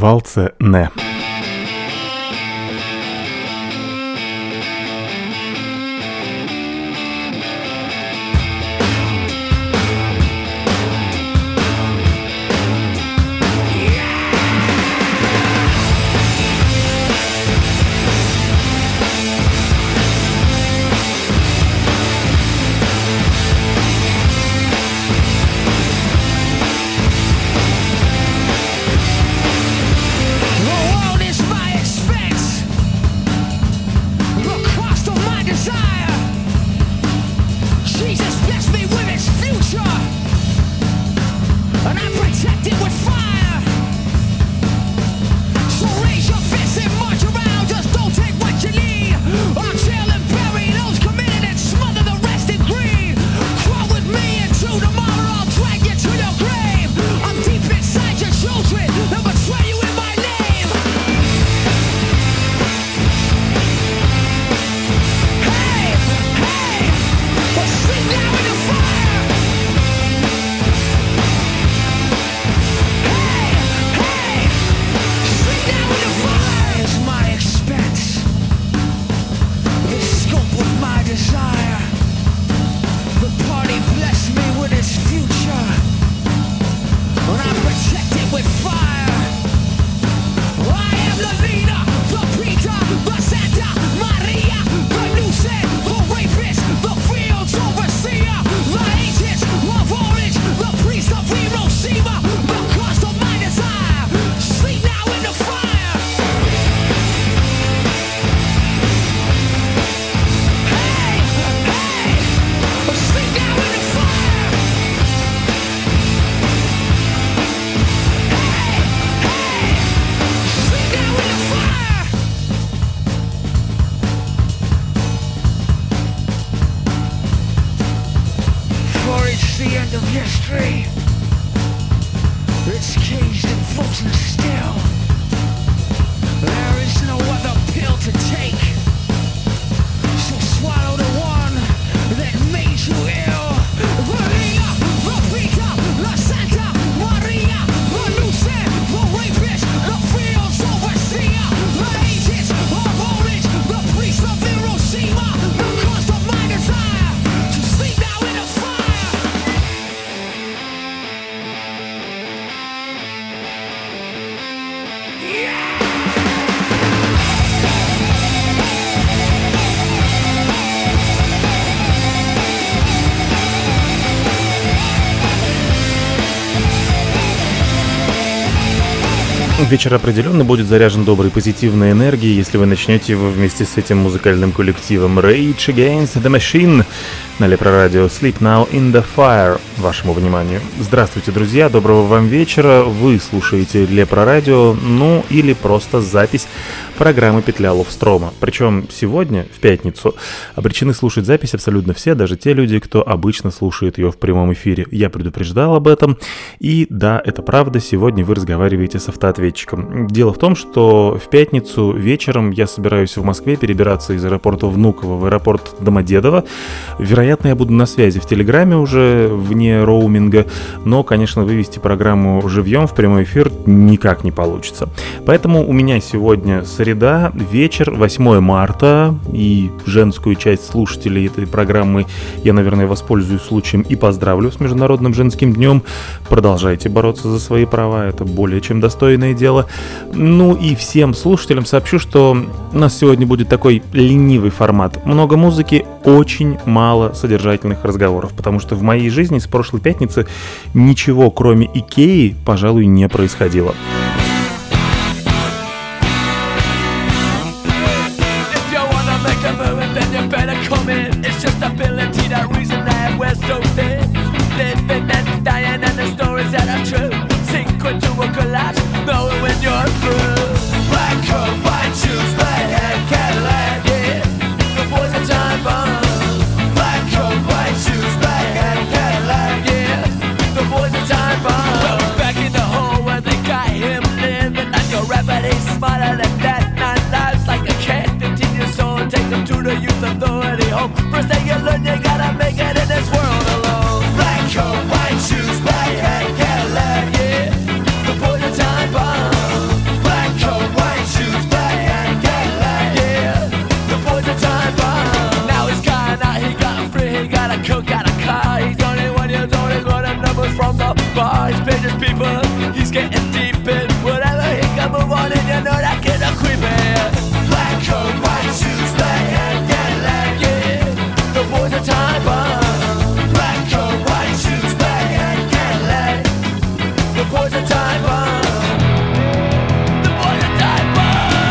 Walce ne. Вечер определенно будет заряжен доброй позитивной энергией, если вы начнете его вместе с этим музыкальным коллективом Rage Against the Machine на Лепрорадио Sleep Now in the Fire. Вашему вниманию. Здравствуйте, друзья, доброго вам вечера. Вы слушаете Лепрорадио, ну или просто запись программы «Петля Ловстрома». Причем сегодня, в пятницу, обречены слушать запись абсолютно все, даже те люди, кто обычно слушает ее в прямом эфире. Я предупреждал об этом, и да, это правда, сегодня вы разговариваете с автоответчиком. Дело в том, что в пятницу вечером я собираюсь в Москве перебираться из аэропорта Внуково в аэропорт Домодедово. Вероятно, я буду на связи в Телеграме уже, вне роуминга, но, конечно, вывести программу живьем в прямой эфир никак не получится. Поэтому у меня сегодня среда, вечер, 8 марта, и женскую часть слушателей этой программы я, наверное, воспользуюсь случаем и поздравлю с Международным женским днем. Продолжайте бороться за свои права, это более чем достойное дело. Ну и всем слушателям сообщу, что у нас сегодня будет такой ленивый формат. Много музыки, очень мало содержательных разговоров, потому что в моей жизни с прошлой пятницы ничего, кроме Икеи, пожалуй, не происходило. First thing you learn, you gotta make it in this world alone. all his business people. He's getting deep in whatever he can move on, and you know that kid a creepy. Black coat, white shoes, black hat, Cadillac, yeah. The boy's a time bomb. Black coat, white shoes, black hat, Cadillac. The boy's a time bomb. The boy's a time bomb.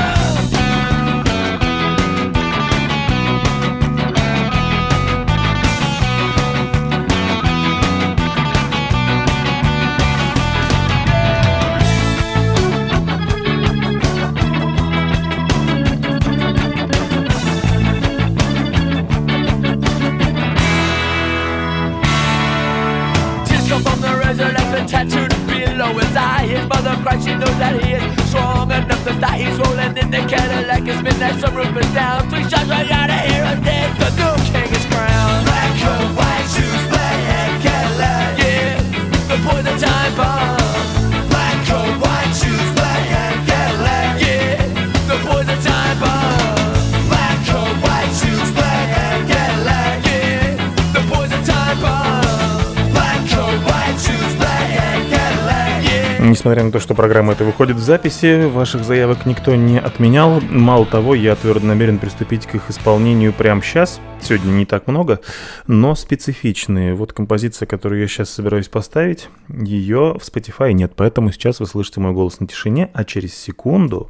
Tattooed below his eye. His mother cries, she knows that he is strong enough to die. He's rolling in the Cadillac, it's midnight, some roof is down. 3 shots right out of here and dead, the new king is crowned. Black coat, white shoes, black hat, Cadillac. Yeah, the boy's a time bomb. Black coat, white shoes, black hat, Cadillac. Yeah, the boy's a time bomb. Black coat, white shoes, black hat, Cadillac. Yeah, the boy's a time bomb. Black coat, white shoes, black hat. Несмотря на то, что программа эта выходит в записи, ваших заявок никто не отменял. Мало того, я твердо намерен приступить к их исполнению прямо сейчас. Сегодня не так много, но специфичные. Вот композиция, которую я сейчас собираюсь поставить, ее в Spotify нет, поэтому сейчас вы слышите мой голос на тишине, а через секунду...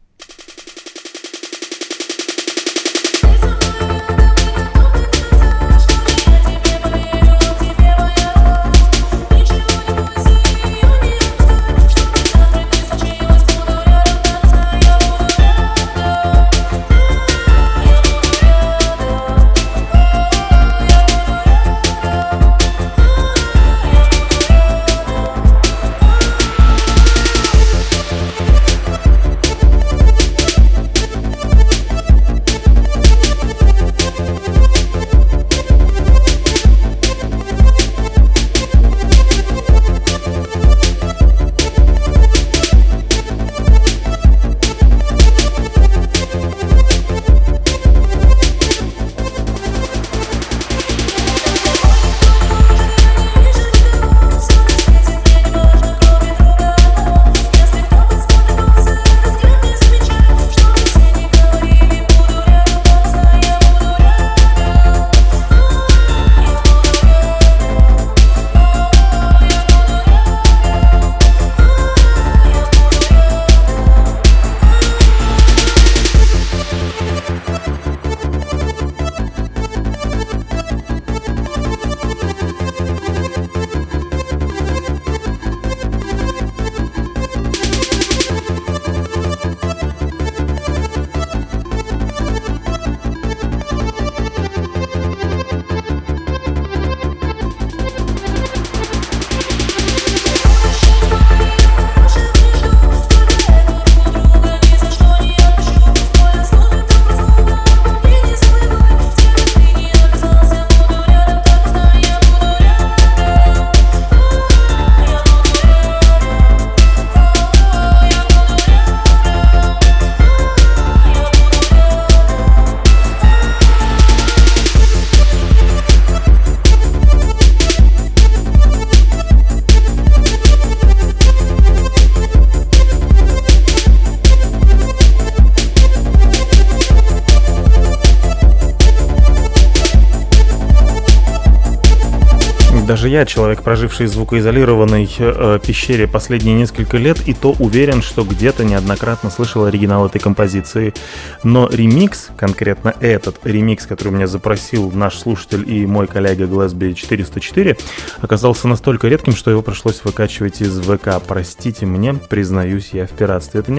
Даже я, человек, проживший в звукоизолированной пещере последние несколько лет, и то уверен, что где-то неоднократно слышал оригинал этой композиции. Но ремикс, конкретно этот ремикс, который меня запросил наш слушатель и мой коллега Glesby 404, оказался настолько редким, что его пришлось выкачивать из ВК. Простите мне, признаюсь я в пиратстве. Это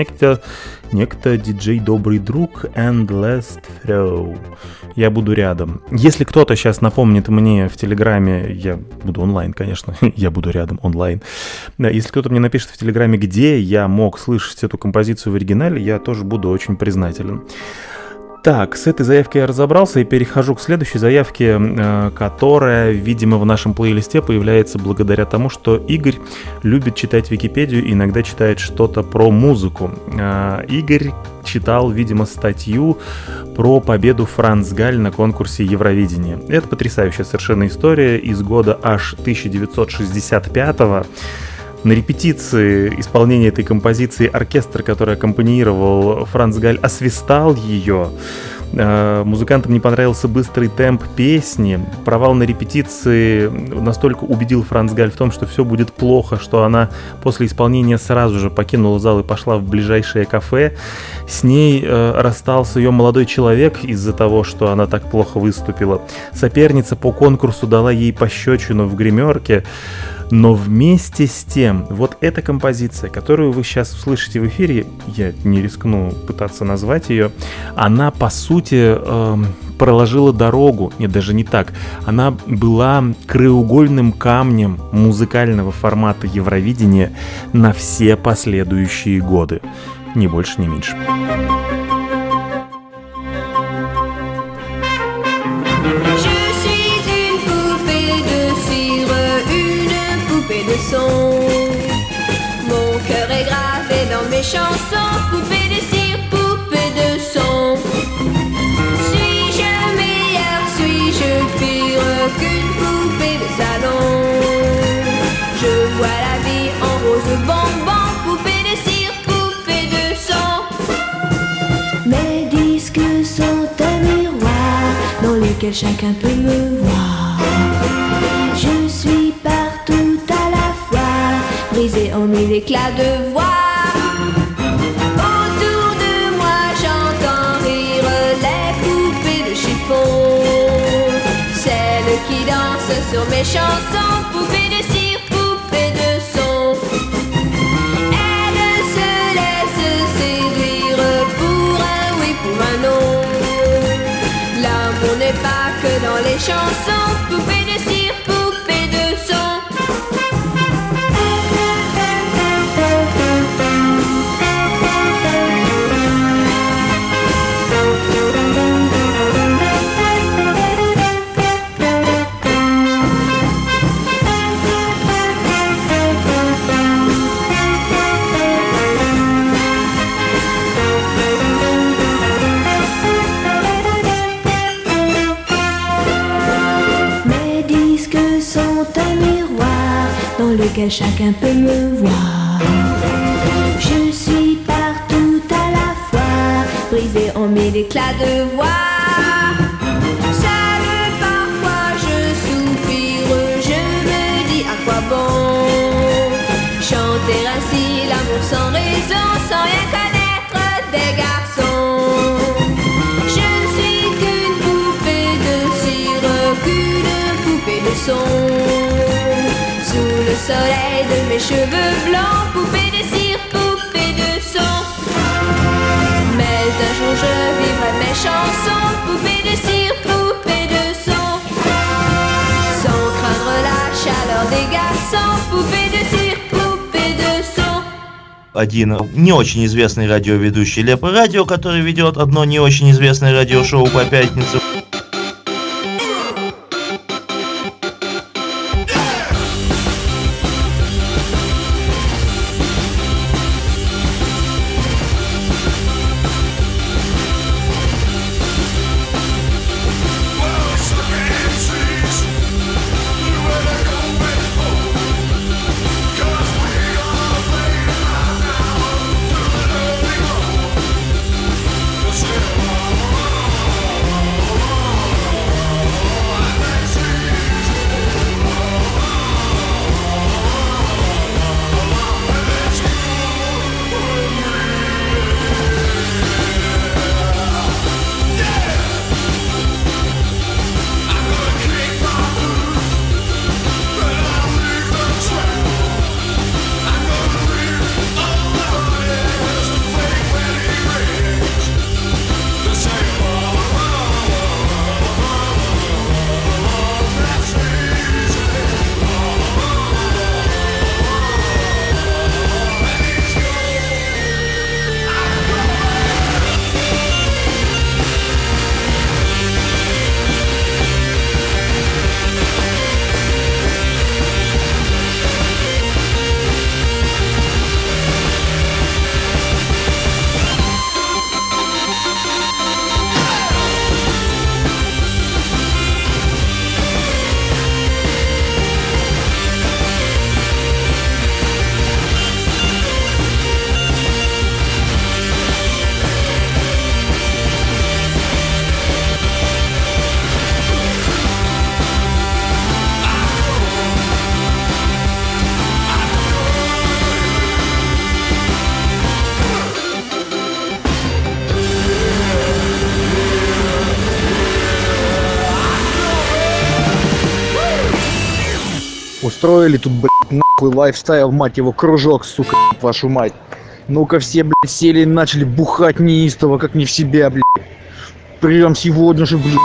некто диджей Добрый Друг and Last Throw. Я буду рядом. Если кто-то сейчас напомнит мне в Телеграме, я буду онлайн, конечно, я буду рядом онлайн. Если кто-то мне напишет в Телеграме, где я мог слышать эту композицию в оригинале, я тоже буду очень признателен. Так, с этой заявкой я разобрался и перехожу к следующей заявке, которая, видимо, в нашем плейлисте появляется благодаря тому, что Игорь любит читать Википедию и иногда читает что-то про музыку. Игорь читал, видимо, статью про победу Франц Галь на конкурсе Евровидения. Это потрясающая совершенно история из года аж 1965-го. На репетиции исполнения этой композиции оркестр, который аккомпанировал Франц Галь, освистал ее. Музыкантам не понравился быстрый темп песни. Провал на репетиции настолько убедил Франц Галь в том, что все будет плохо, что она после исполнения сразу же покинула зал и пошла в ближайшее кафе. С ней расстался ее молодой человек из-за того, что она так плохо выступила. Соперница по конкурсу дала ей пощечину в гримерке. Но вместе с тем, вот эта композиция, которую вы сейчас услышите в эфире, я не рискну пытаться назвать ее, она, по сути, проложила дорогу, нет, даже не так, она была краеугольным камнем музыкального формата Евровидения на все последующие годы. Ни больше, ни меньше. Mon cœur est gravé dans mes chansons, poupée de cire, poupée de son. Suis-je meilleure, suis-je pire qu'une poupée de salon? Je vois la vie en rose bonbon, poupée de cire, poupée de son. Mes disques sont un miroir dans lequel chacun peut me voir. Je suis partout à la fois, brisée en mille éclats de voix. Autour de moi j'entends rire les poupées de chiffon, celles qui dansent sur mes chansons, poupées de cire, poupées de son. Elles se laissent séduire pour un oui, pour un non. L'amour n'est pas que dans les chansons, poupées de cire, poupées de son. Lequel chacun peut me voir. Je suis partout à la fois, brisée en mille éclats de voix. Seule parfois je soupire, je me dis à quoi bon chanter ainsi l'amour sans raison, sans rien connaître des garçons. Je ne suis qu'une poupée de cire, qu'une poupée de son. Sous le soleil de mes cheveux blancs, poupée de cire, poupée de son. Mais un jour je vivrai mes chansons, poupée de cire, poupée de son. Sans craindre la chaleur des garçons, poupée de cire, poupée de son. Один не очень известный радиоведущий Лепо Радио, который ведет одно не очень известное радиошоу по пятницам. устроили тут, блядь, нахуй лайфстайл, мать его, кружок, сука, вашу мать. Ну-ка все, блядь, сели и начали бухать неистово, как не в себя, блядь. Прям сегодня же, блядь.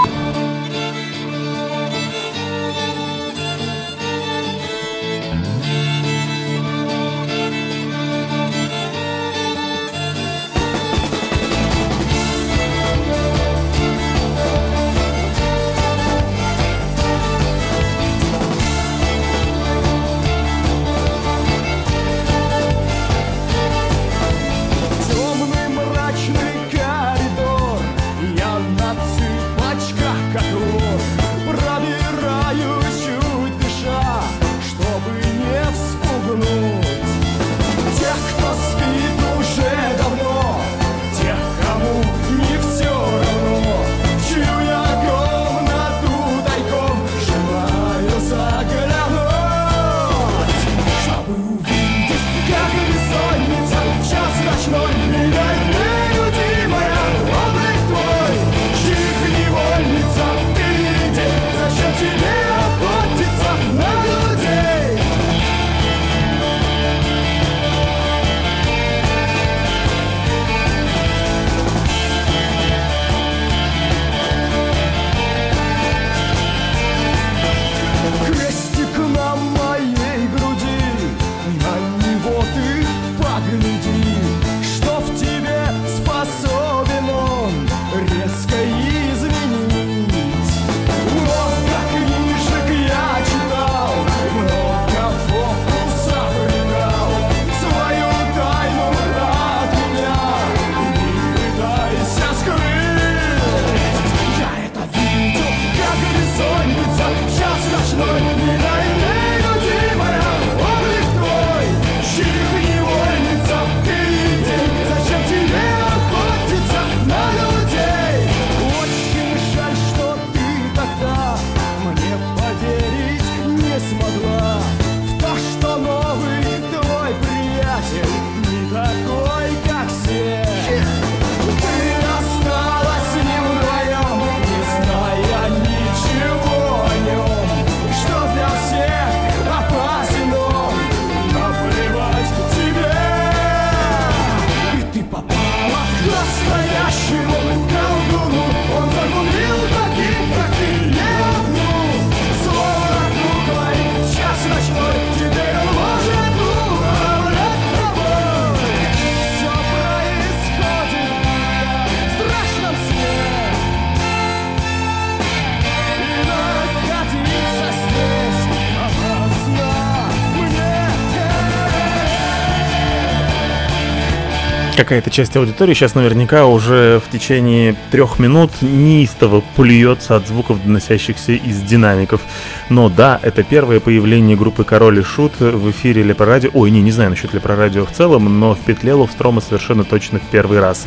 Какая-то часть аудитории сейчас наверняка уже в течение 3 минут неистово плюется от звуков, доносящихся из динамиков. Но да, это первое появление группы Король и Шут в эфире Лепрорадио. Ой, не знаю насчет Лепрорадио в целом, но в петле Ловстрома совершенно точно в первый раз.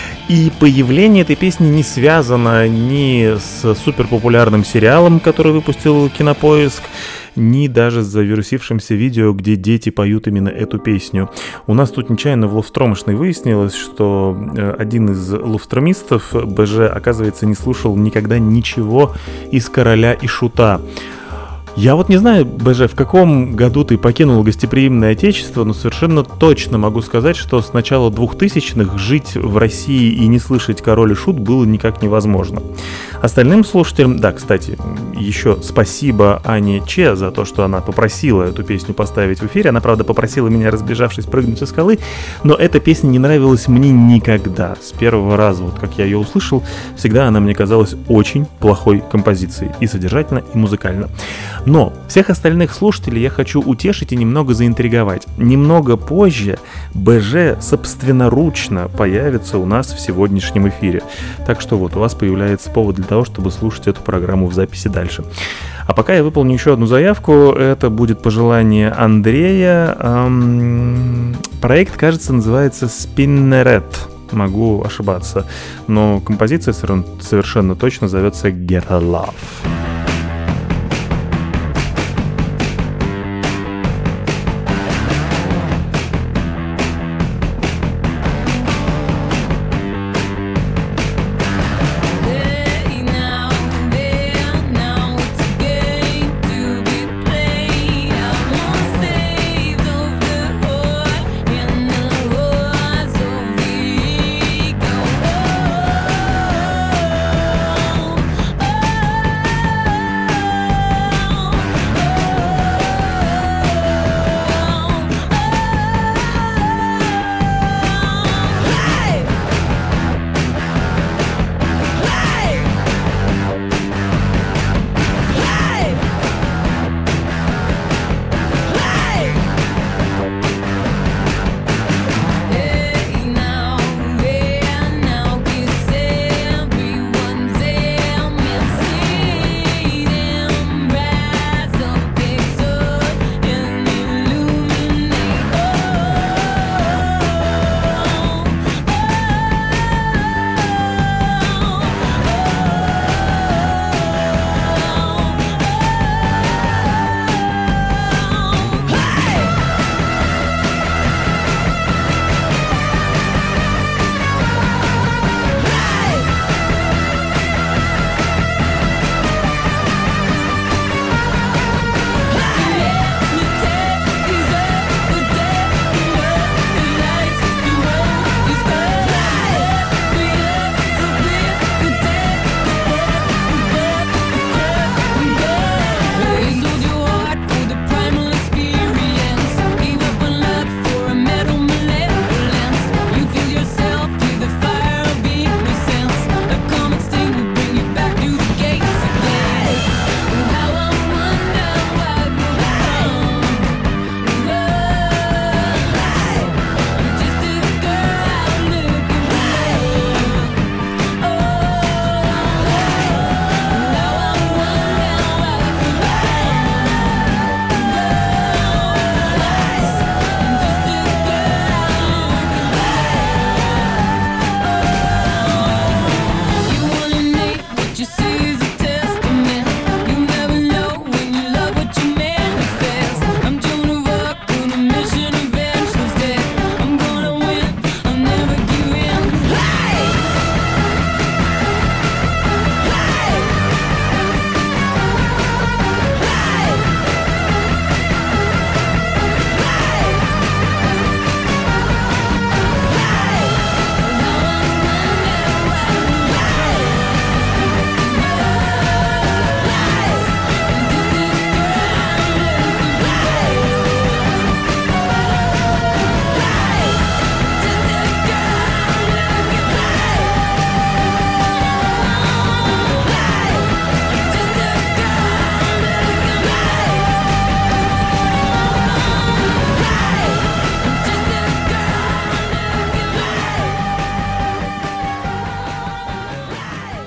И появление этой песни не связано ни с суперпопулярным сериалом, который выпустил Кинопоиск, ни даже с завирусившимся видео, где дети поют именно эту песню. У нас тут нечаянно в Ловстромошной выяснилось, что один из ловстромистов, БЖ, оказывается, не слушал никогда ничего из Короля и Шута. Я вот не знаю, БЖ, в каком году ты покинул гостеприимное отечество, но совершенно точно могу сказать, что с начала 2000-х жить в России и не слышать Король и Шут было никак невозможно. Остальным слушателям, да, кстати, еще спасибо Ане Че за то, что она попросила эту песню поставить в эфире. Она, правда, попросила меня, разбежавшись, прыгнуть со скалы, но эта песня не нравилась мне никогда. С первого раза, вот как я ее услышал, всегда она мне казалась очень плохой композицией, и содержательно, и музыкально. Но всех остальных слушателей я хочу утешить и немного заинтриговать. Немного позже БЖ собственноручно появится у нас в сегодняшнем эфире. Так что вот у вас появляется повод для того, чтобы слушать эту программу в записи дальше. А пока я выполню еще одну заявку. Это будет пожелание Андрея. Проект, кажется, называется Spinneret. Могу ошибаться. Но композиция совершенно точно зовется Get a Love. Now, there, now, it's a game to be played.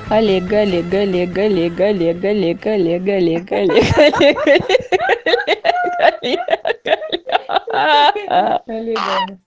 Олег, Олег, Олег, Олег, Олег, Олег, Олег, Олег, Олег, Олег, Олег.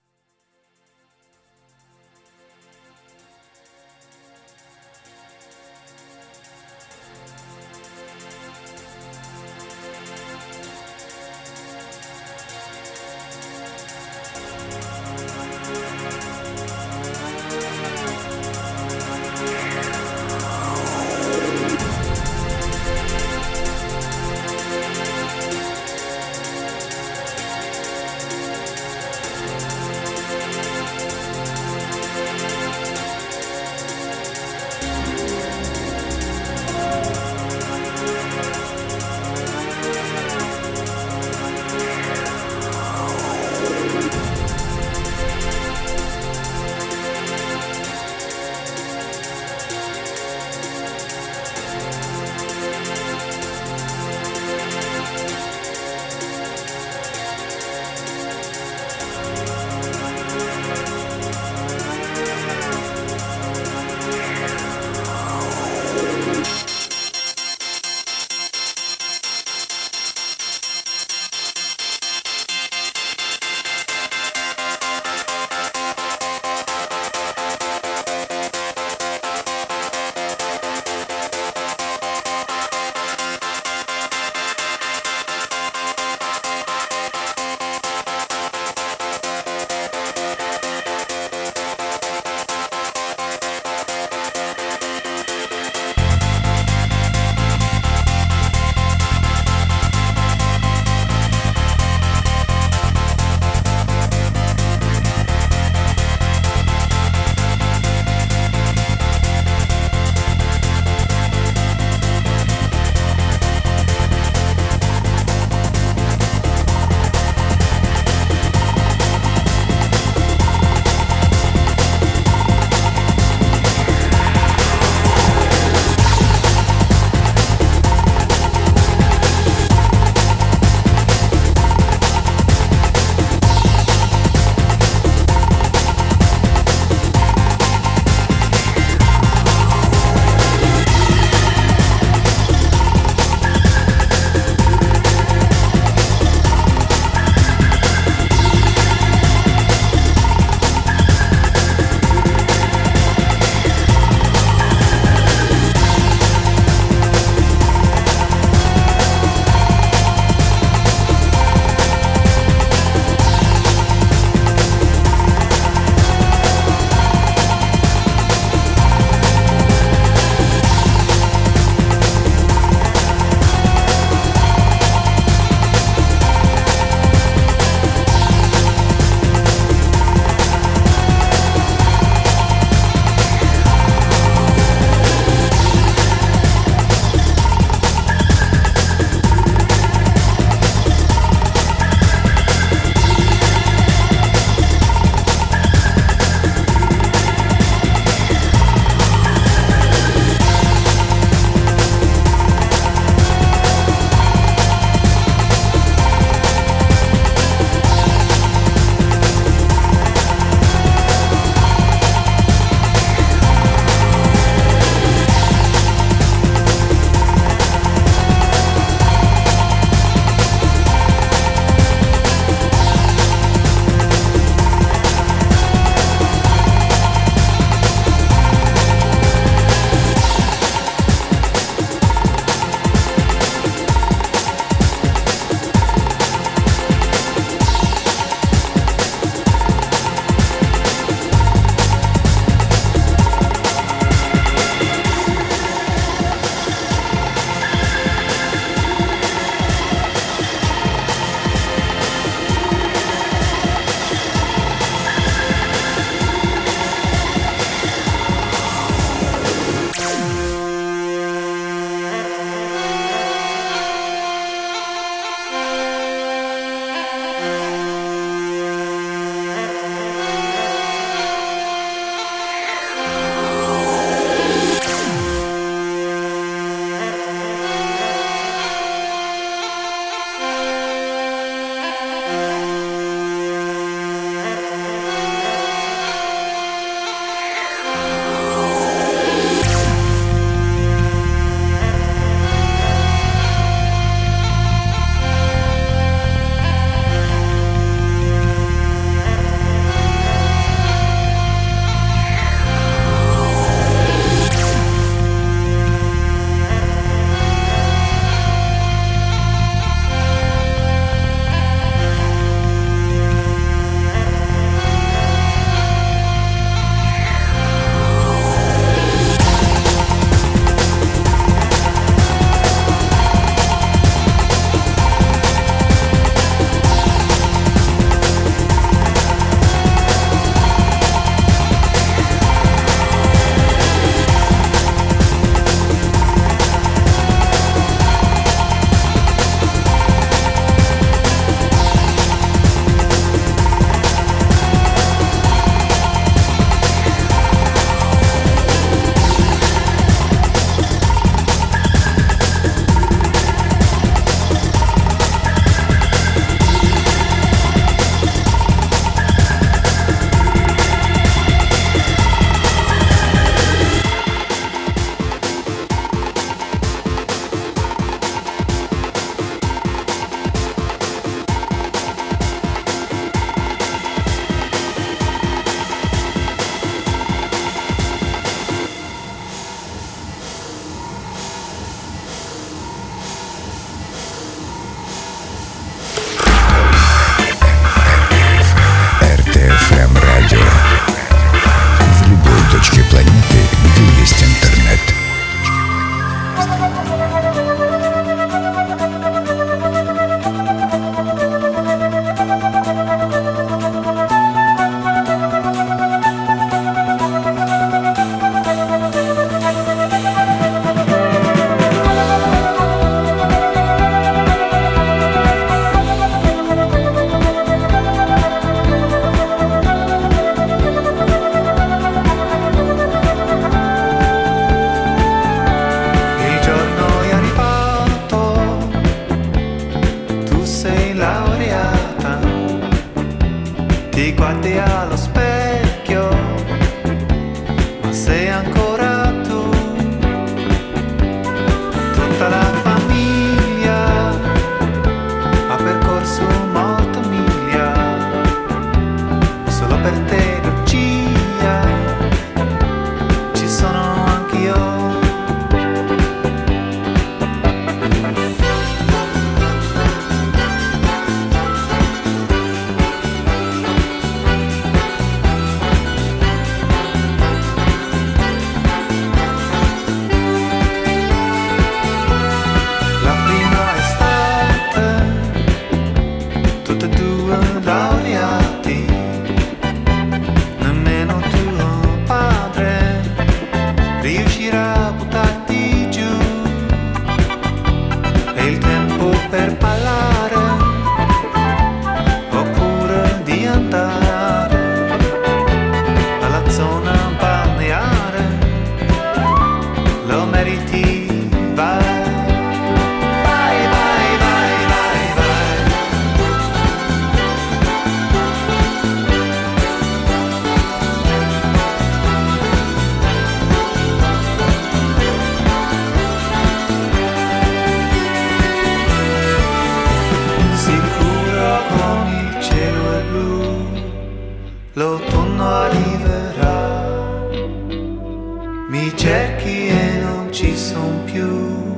Mi cerchi e non ci son più.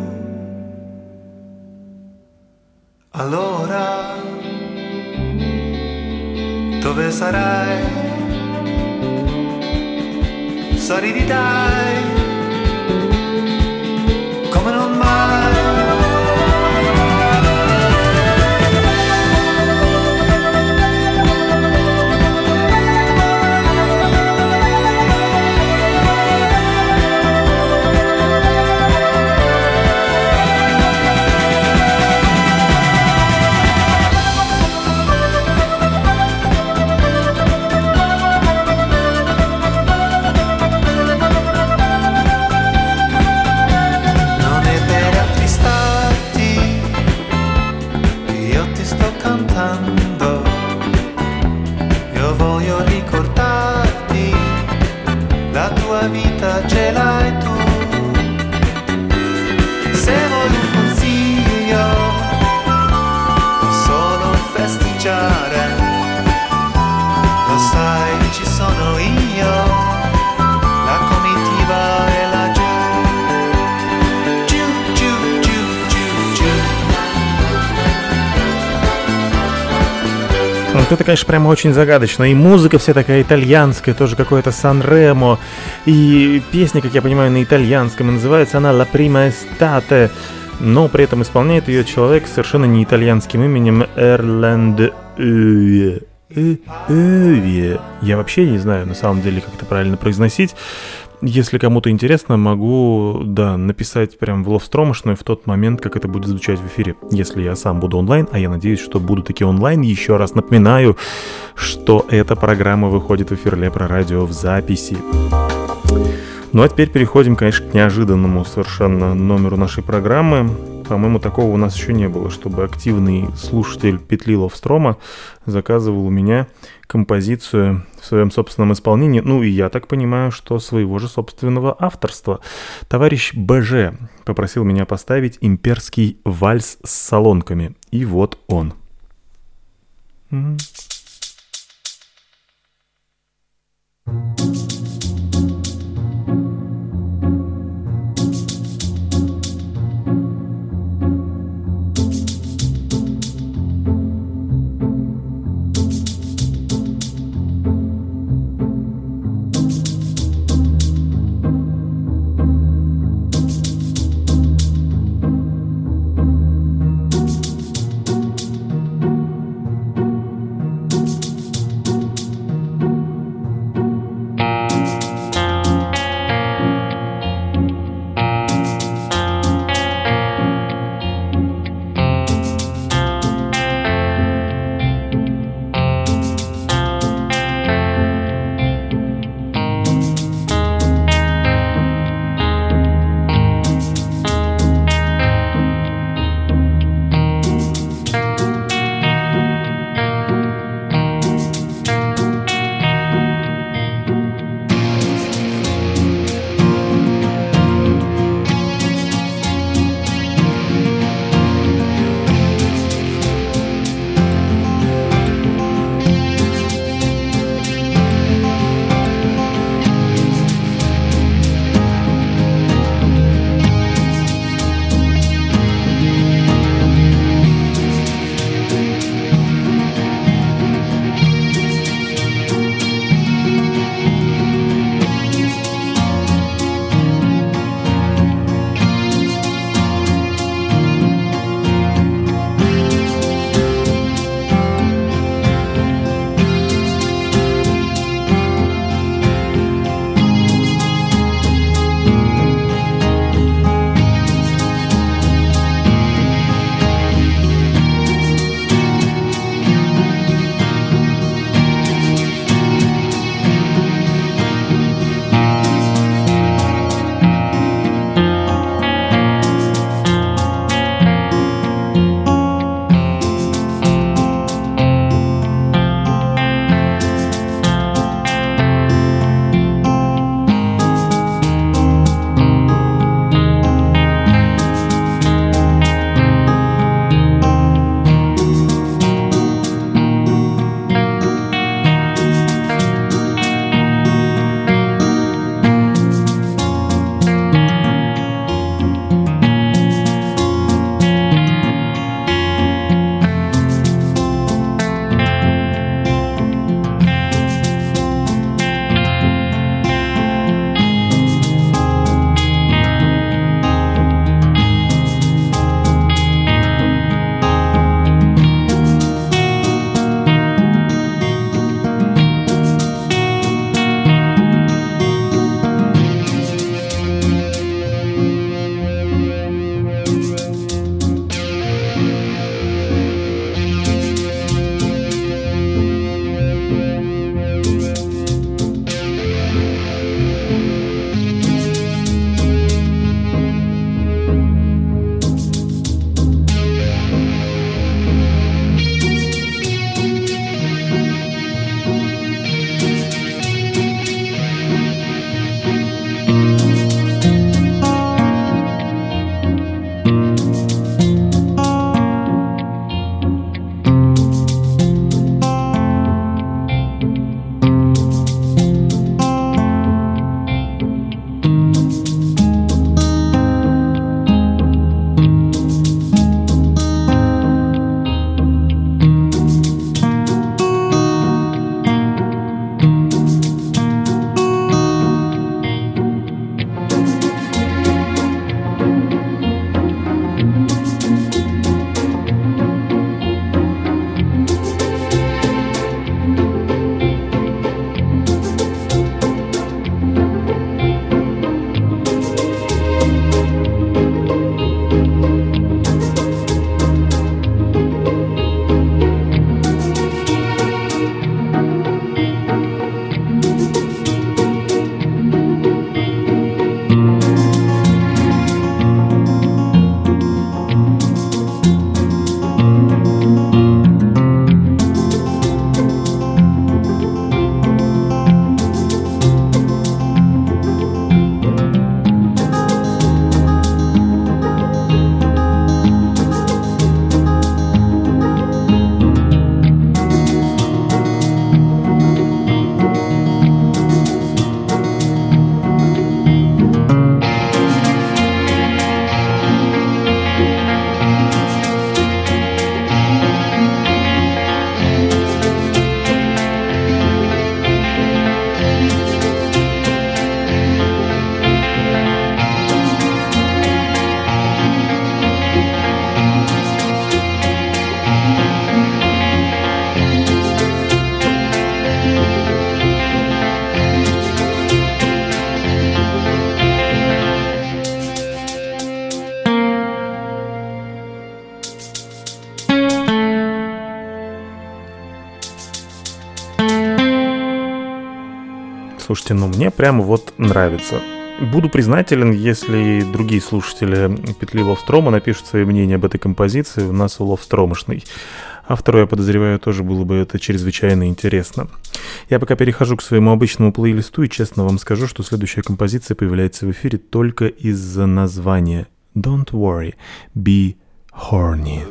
Allora, dove sarai? Sorridi dai, come non mai. Vita ce l'hai tu, se vuoi un consiglio o solo festeggiare, lo sai ci sono io, la comitiva è laggiù, giù, giù, giù, giù, giù. Вот это, конечно, прямо очень загадочно. И музыка вся такая итальянская, тоже какое-то Сан-Ремо. И песня, как я понимаю, на итальянском. И называется она «La prima estate». Но при этом исполняет ее человек с совершенно не итальянским именем Эрланд Öve. Я вообще не знаю, на самом деле, как это правильно произносить. Если кому-то интересно, могу, написать прям в ловстромошную в тот момент, как это будет звучать в эфире. Если я сам буду онлайн, а я надеюсь, что буду таки онлайн. Еще раз напоминаю, что эта программа выходит в эфир Лепро Радио в записи. Ну а теперь переходим, конечно, к неожиданному совершенно номеру нашей программы. По-моему, такого у нас еще не было, чтобы активный слушатель петли Ловстрома заказывал у меня композицию в своем собственном исполнении. Ну и я так понимаю, что своего же собственного авторства. Товарищ БЖ попросил меня поставить имперский вальс с солонками. И вот он. Слушайте, ну мне прямо вот нравится. Буду признателен, если другие слушатели петли Ловстрома напишут свои мнения об этой композиции. У нас у Ловстромошный. Автору, я подозреваю, тоже было бы это чрезвычайно интересно. Я пока перехожу к своему обычному плейлисту и честно вам скажу, что следующая композиция появляется в эфире только из-за названия Don't Worry, Be Horny.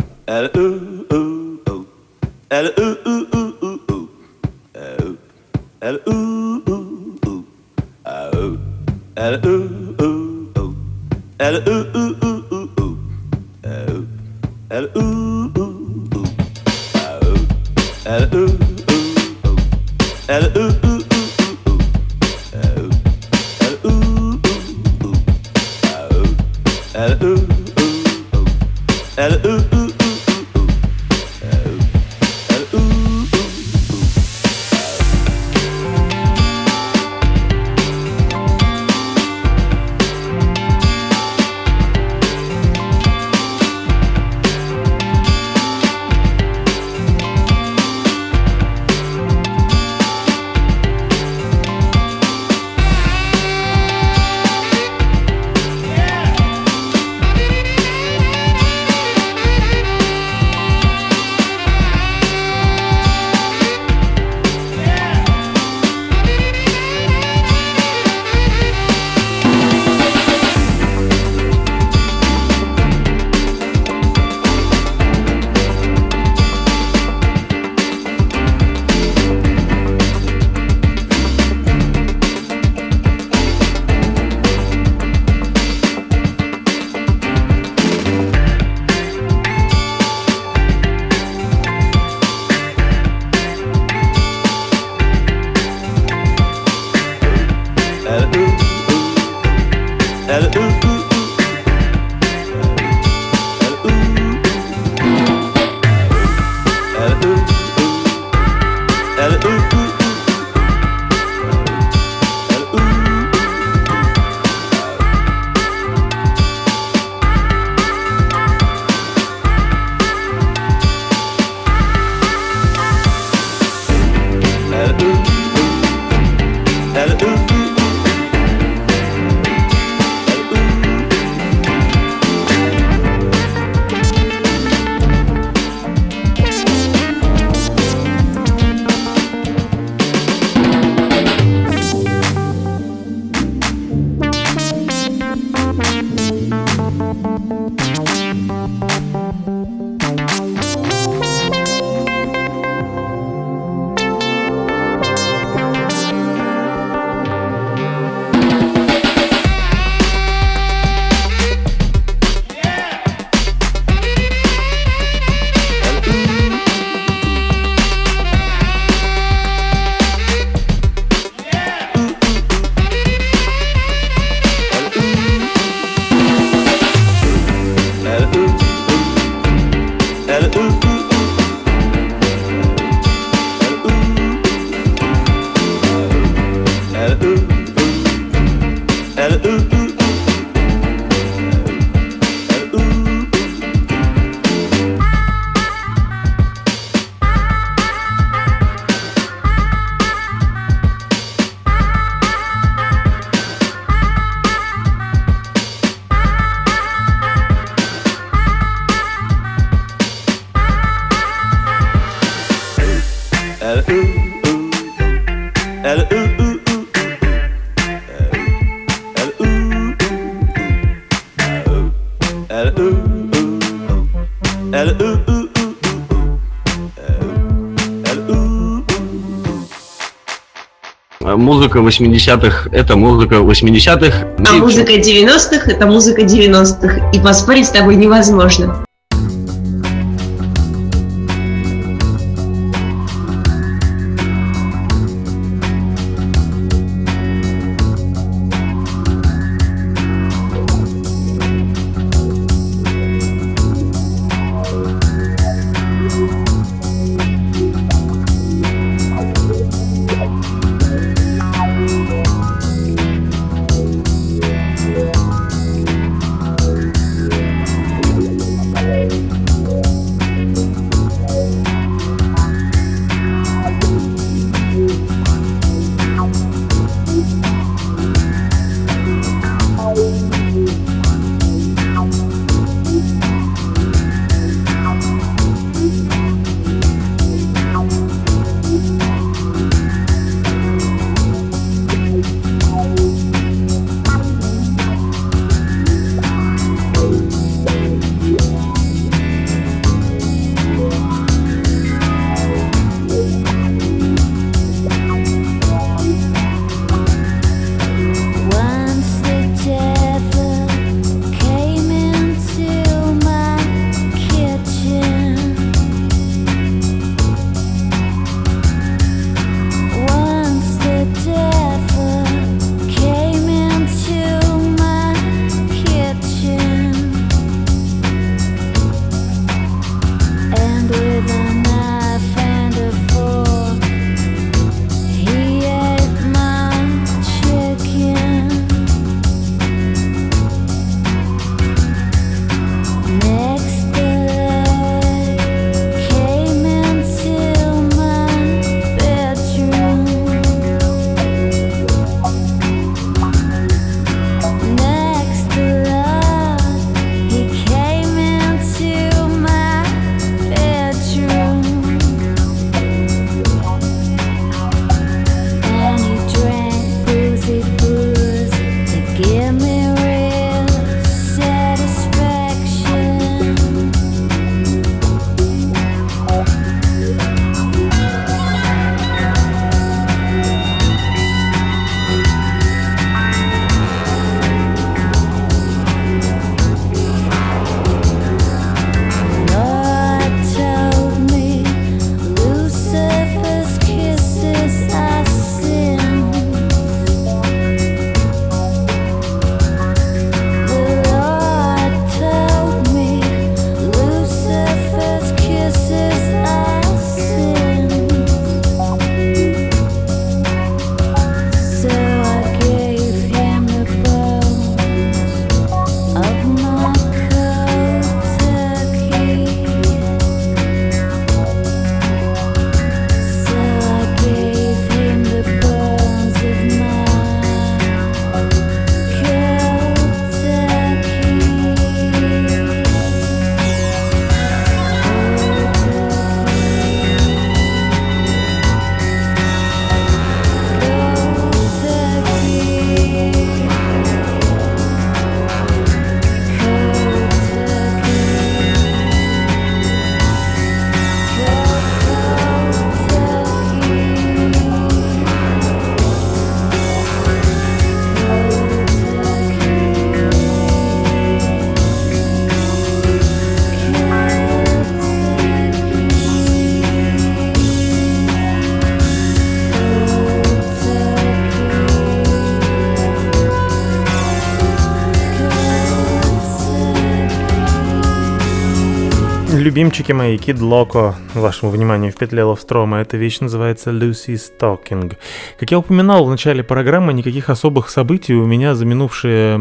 Музыка 80-х – это музыка 80-х. А музыка 90-х – это музыка 90-х. И поспорить с тобой невозможно. Give me real satisfaction. Lord told me Lucifer's kisses are sin. The Lord told me Lucifer's kisses are sin. So I gave him the bones of my cold turkey. So I gave him the bones of my cold Любимчики мои, Kid Loco, вашему вниманию в петле Ловстрома. Эта вещь называется Lucy's Talking. Как я упоминал в начале программы, никаких особых событий у меня за минувшие...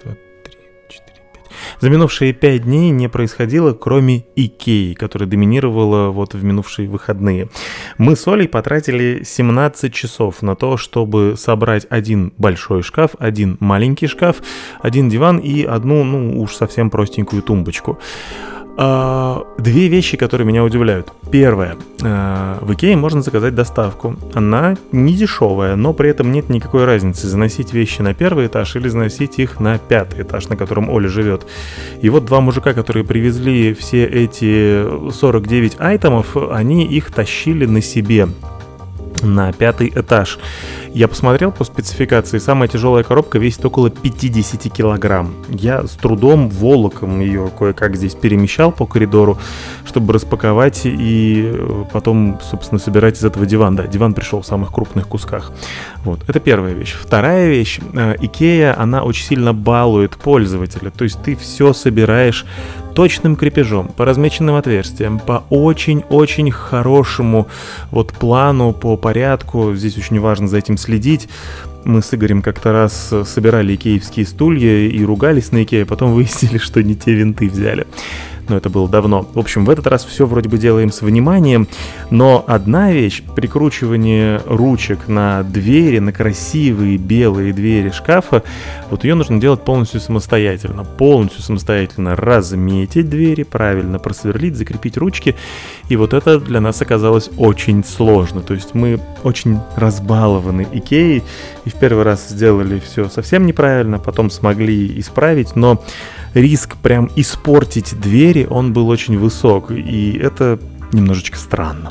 За минувшие 5 дней не происходило, кроме Икеи, которая доминировала вот в минувшие выходные. Мы с Олей потратили 17 часов на то, чтобы собрать один большой шкаф, один маленький шкаф, один диван и одну, ну уж совсем простенькую тумбочку. Две вещи, которые меня удивляют. Первое. В Икее можно заказать доставку. Она не дешевая, но при этом нет никакой разницы, заносить вещи на первый этаж или заносить их на 5-й этаж, на котором Оля живет. И вот два мужика, которые привезли все эти 49 айтемов, они их тащили на себе на 5-й этаж. Я посмотрел по спецификации, самая тяжелая коробка весит около 50 килограмм. Я с трудом волоком ее кое-как здесь перемещал по коридору, чтобы распаковать и потом, собственно, собирать из этого диван. Да, диван пришел в самых крупных кусках. Вот, это первая вещь. Вторая вещь. Икея, она очень сильно балует пользователя. То есть ты все собираешь точным крепежом, по размеченным отверстиям, по очень-очень хорошему вот плану, по порядку. Здесь очень важно за этим следить. Мы с Игорем как-то раз собирали икеевские стулья и ругались на Икее, потом выяснили, что не те винты взяли. Но это было давно. В общем, в этот раз все вроде бы делаем с вниманием, но одна вещь, прикручивание ручек на двери, на красивые белые двери шкафа, вот ее нужно делать полностью самостоятельно. Полностью самостоятельно разметить двери, правильно просверлить, закрепить ручки. И вот это для нас оказалось очень сложно. То есть мы очень разбалованы Икеей и в первый раз сделали все совсем неправильно, потом смогли исправить, но риск прям испортить двери, он был очень высок, и это немножечко странно.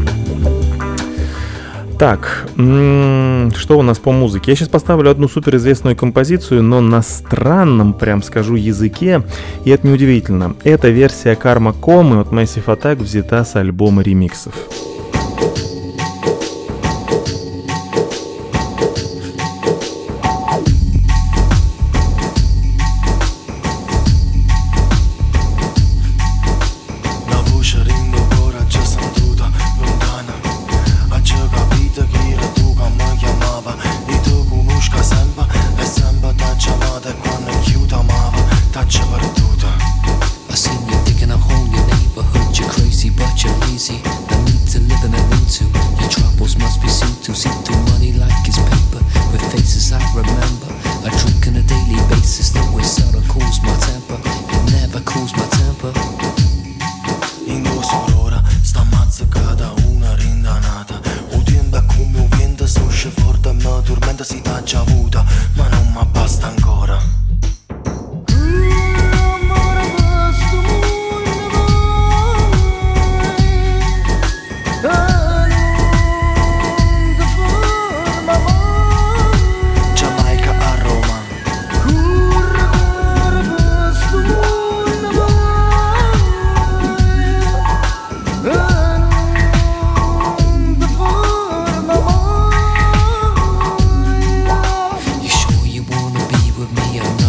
Так, что у нас по музыке? Я сейчас поставлю одну суперизвестную композицию, но на странном, прям скажу, языке, и это неудивительно. Эта версия Karma Coma от Massive Attack взята с альбома ремиксов. I seen you digging a hole in your neighborhood, you're crazy but you're lazy. I need to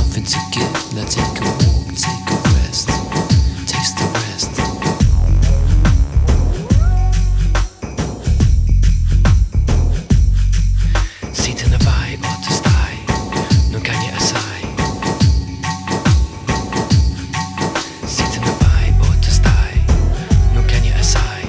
nothing to give. Now take a walk, take a rest, taste the rest. Si te ne vai o te stai, non cagni assai. Si te ne vai o te stai, non cagni assai.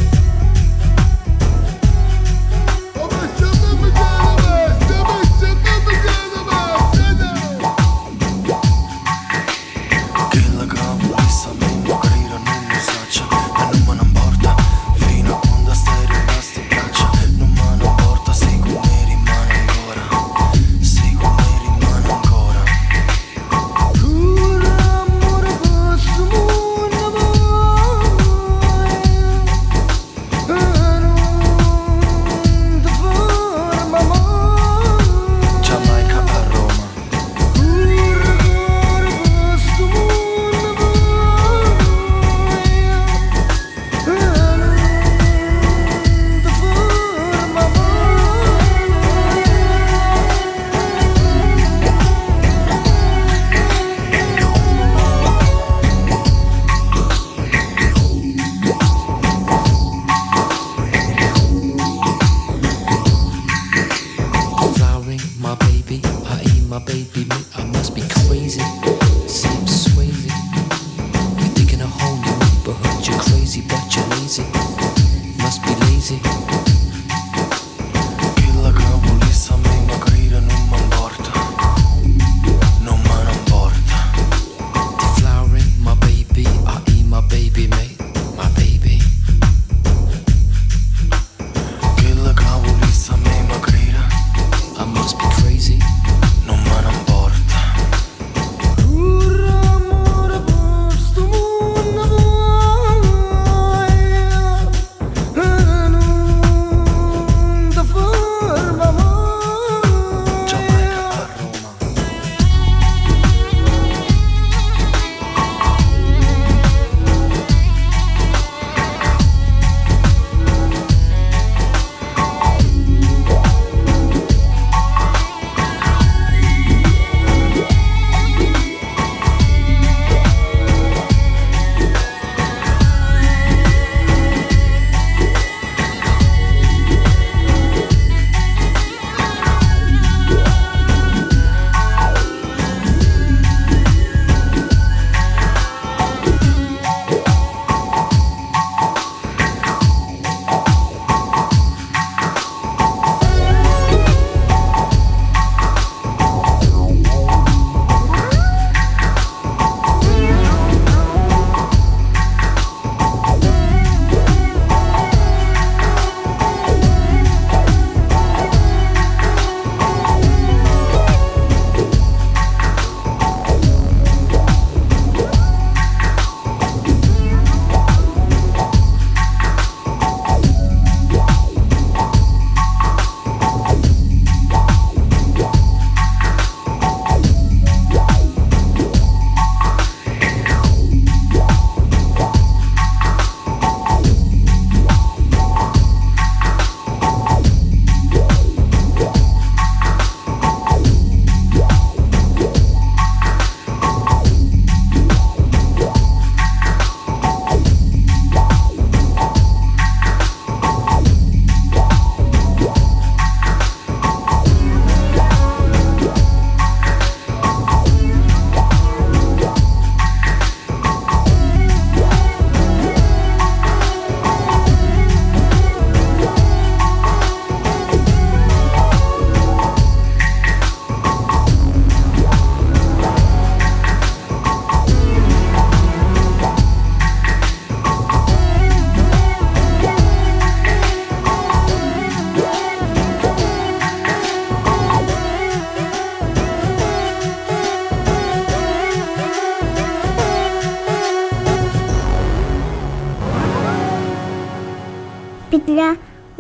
Петля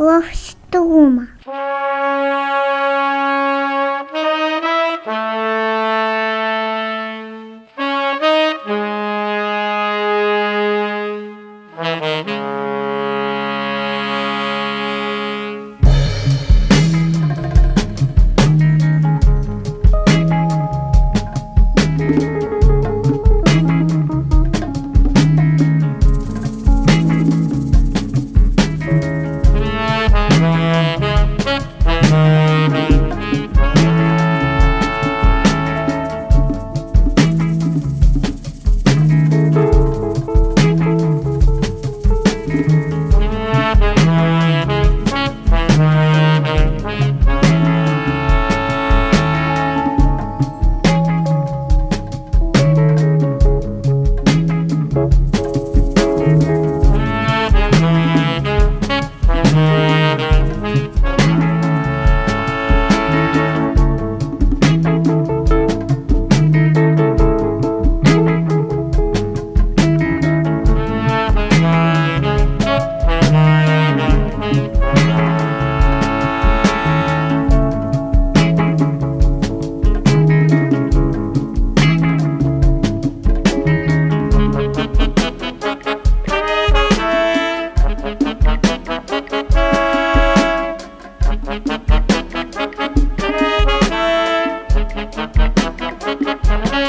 Ловструма.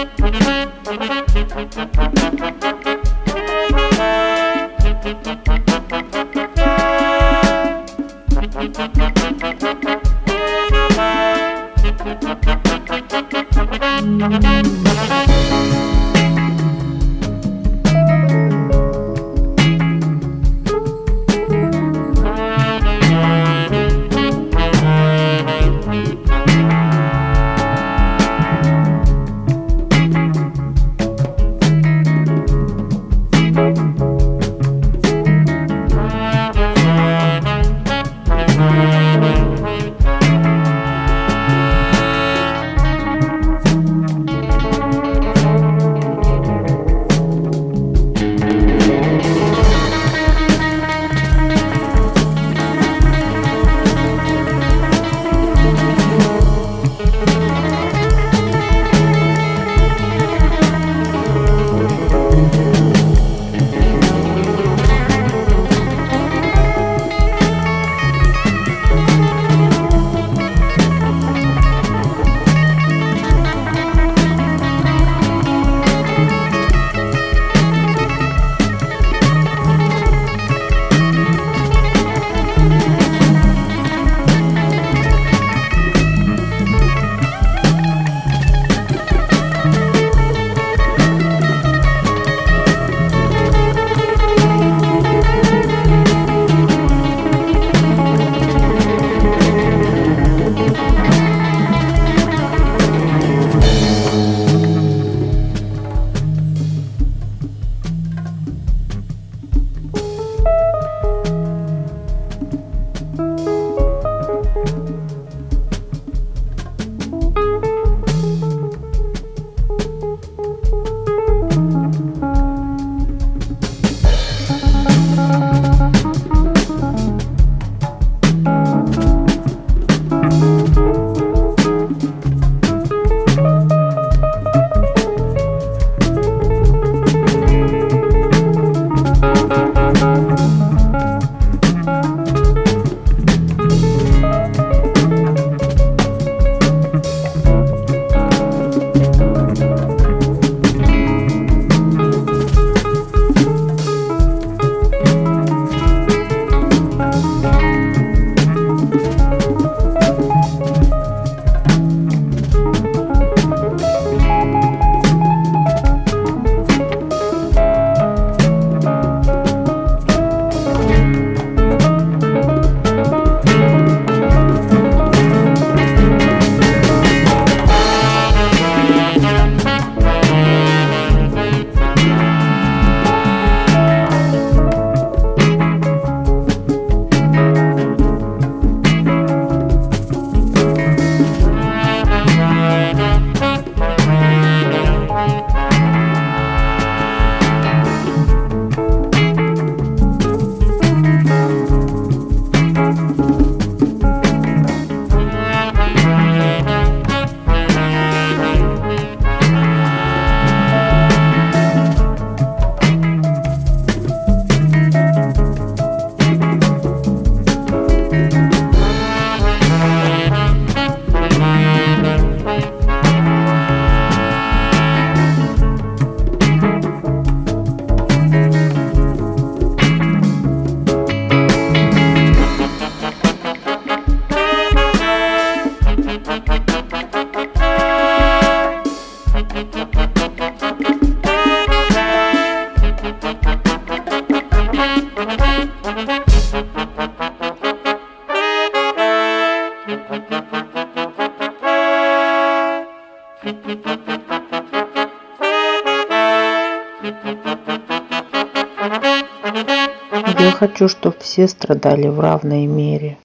Я хочу, чтобы все страдали в равной мере.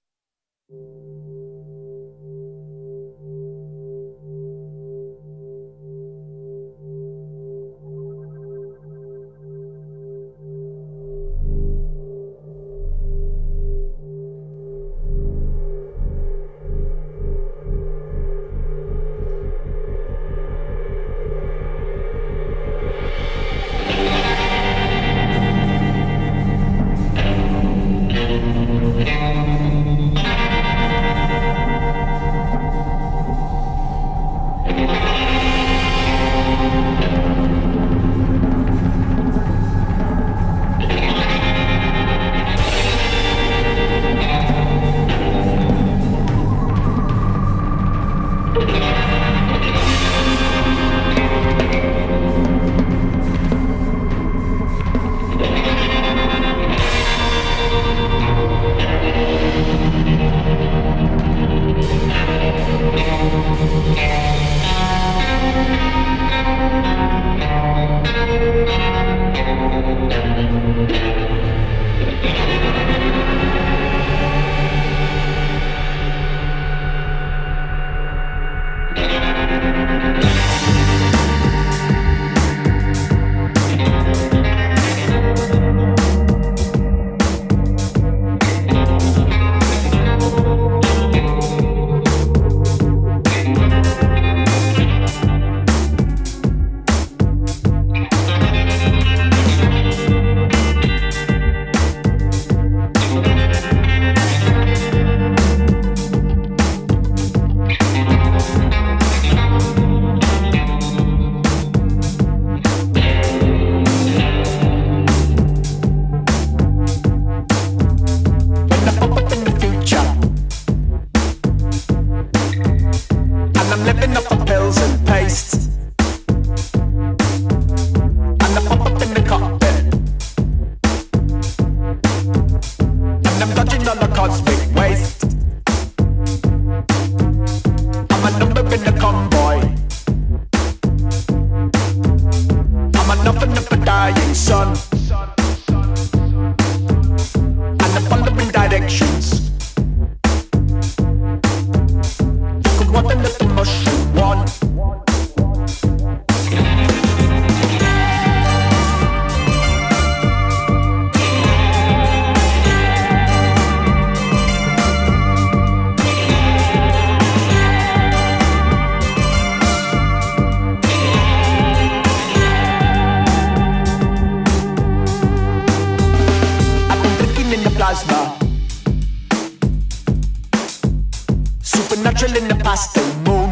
still moon.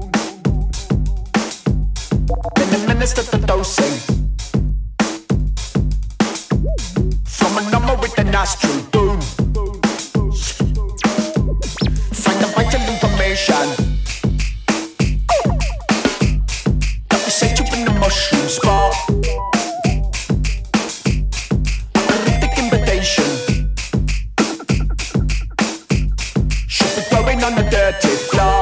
Then administer the dosing from a number with the nostril boom. Find the vital information that will set you in the mushroom spot. A cryptic invitation should be throwing on the dirty floor.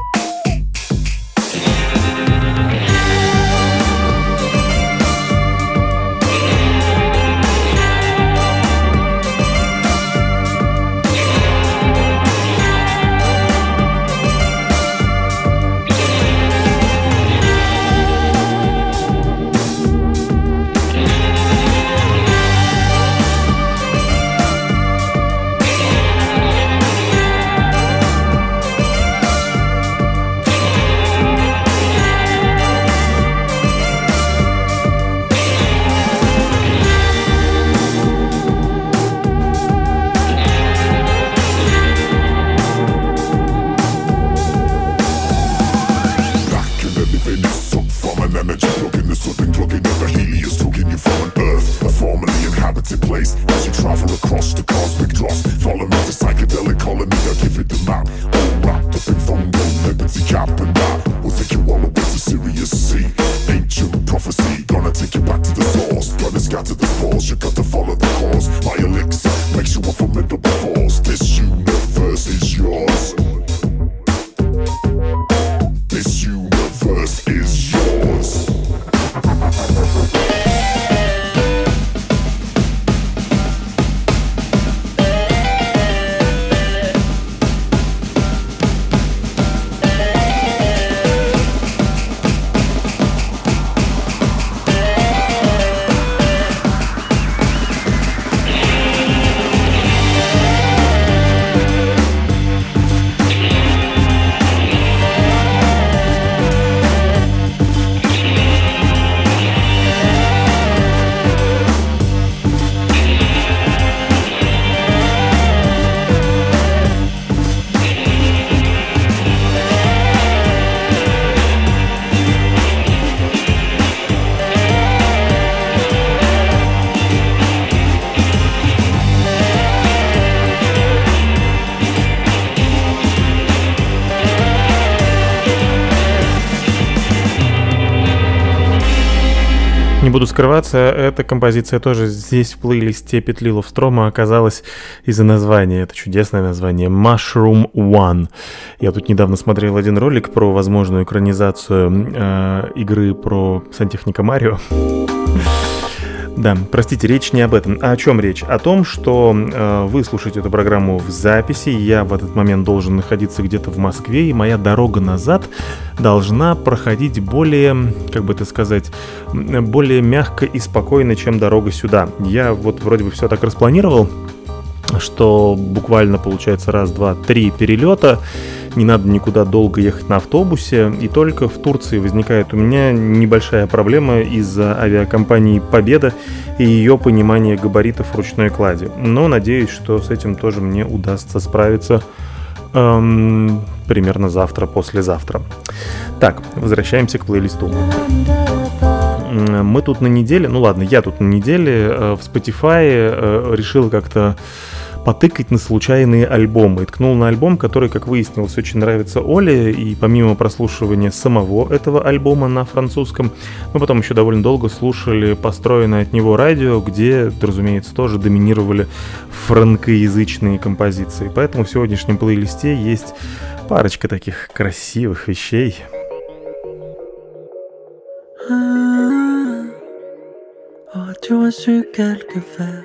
Не буду скрываться, эта композиция тоже здесь в плейлисте Петли Ловстрома оказалась из-за названия. Это чудесное название Mushroom One. Я тут недавно смотрел один ролик про возможную экранизацию игры про сантехника Марио. Да, простите, речь не об этом. А о чем речь? О том, что вы слушаете эту программу в записи, я в этот момент должен находиться где-то в Москве, и моя дорога назад должна проходить более, как бы это сказать, более мягко и спокойно, чем дорога сюда. Я вот вроде бы все так распланировал, что буквально получается раз, два, три перелета, не надо никуда долго ехать на автобусе, и только в Турции возникает у меня небольшая проблема из-за авиакомпании «Победа» и ее понимания габаритов ручной клади. Но надеюсь, что с этим тоже мне удастся справиться примерно завтра, послезавтра. Так, возвращаемся к плейлисту. Мы тут на неделе, ну ладно, я тут на неделе в Spotify решил как-то потыкать на случайные альбомы. И ткнул на альбом, который, как выяснилось, очень нравится Оле, и помимо прослушивания самого этого альбома на французском, мы потом еще довольно долго слушали построенное от него радио, где, разумеется, тоже доминировали франкоязычные композиции. Поэтому в сегодняшнем плейлисте есть парочка таких красивых вещей. Aurais-tu reçu quelques vers?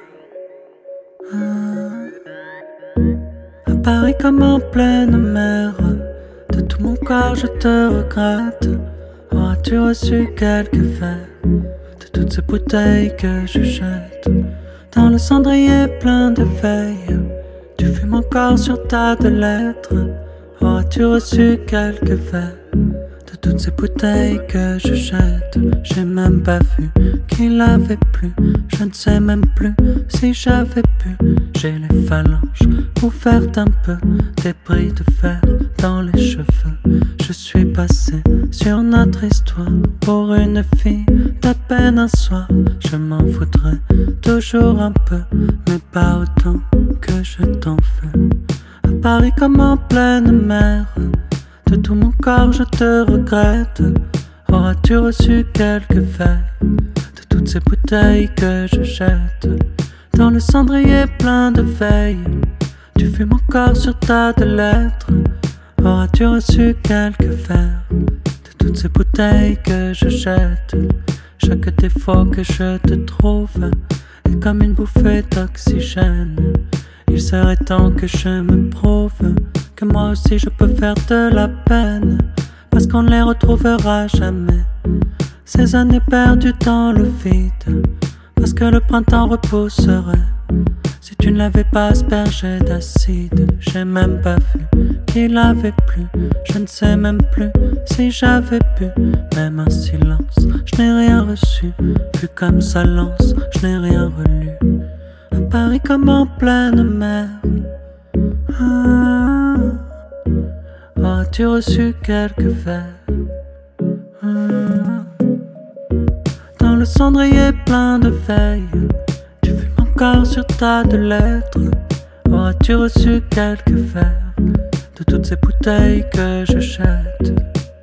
À Paris comme en pleine mer, de tout mon corps je te regrette. Aurais-tu reçu quelques vers de toutes ces bouteilles que je jette dans le cendrier plein de feuilles? Tu fumes encore sur tas de lettres. Aurais-tu reçu quelques vers de toutes ces bouteilles que je jette? J'ai même pas vu qu'il avait plu. Je ne sais même plus si j'avais pu. J'ai les phalanges ouvertes un peu t'ai pris de fer dans les cheveux. Je suis passé sur notre histoire pour une fille d'à peine un soir. Je m'en voudrais toujours un peu, mais pas autant que je t'en veux. À Paris comme en pleine mer, de tout mon corps je te regrette. Auras-tu reçu quelques verres de toutes ces bouteilles que je jette dans le cendrier plein de veilles? Tu fumes encore sur tas de lettres. Auras-tu reçu quelques verres de toutes ces bouteilles que je jette? Chaque défaut que je te trouve est comme une bouffée d'oxygène. Il serait temps que je me prouve que moi aussi je peux faire de la peine, parce qu'on ne les retrouvera jamais, ces années perdues dans le vide, parce que le printemps repousserait si tu ne l'avais pas aspergé d'acide. J'ai même pas vu qu'il avait plu, je ne sais même plus si j'avais bu. Même un silence, je n'ai rien reçu, vu comme ça lance, je n'ai rien relu. À Paris comme en pleine mer, as-tu reçu quelques verres dans le cendrier plein de veilles? Tu fumes encore sur tas de lettres. Auras-tu reçu quelques verres de toutes ces bouteilles que je jette?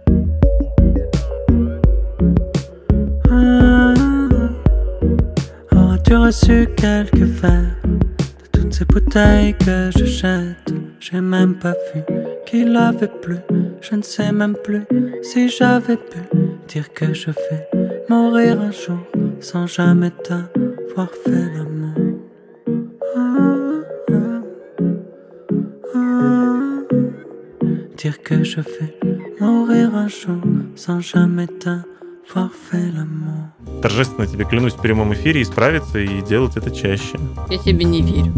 Auras-tu reçu quelques verres de toutes ces bouteilles que je jette? J'ai même pas vu qu'il avait plu, je ne sais même plus si j'avais pu dire que je vais mourir un jour sans jamais t'avoir fait l'amour. Dire que je vais mourir un jour sans jamais t'avoir fait l'amour. Торжественно тебе клянусь в прямом эфире исправиться и делать это чаще. Я тебе не верю.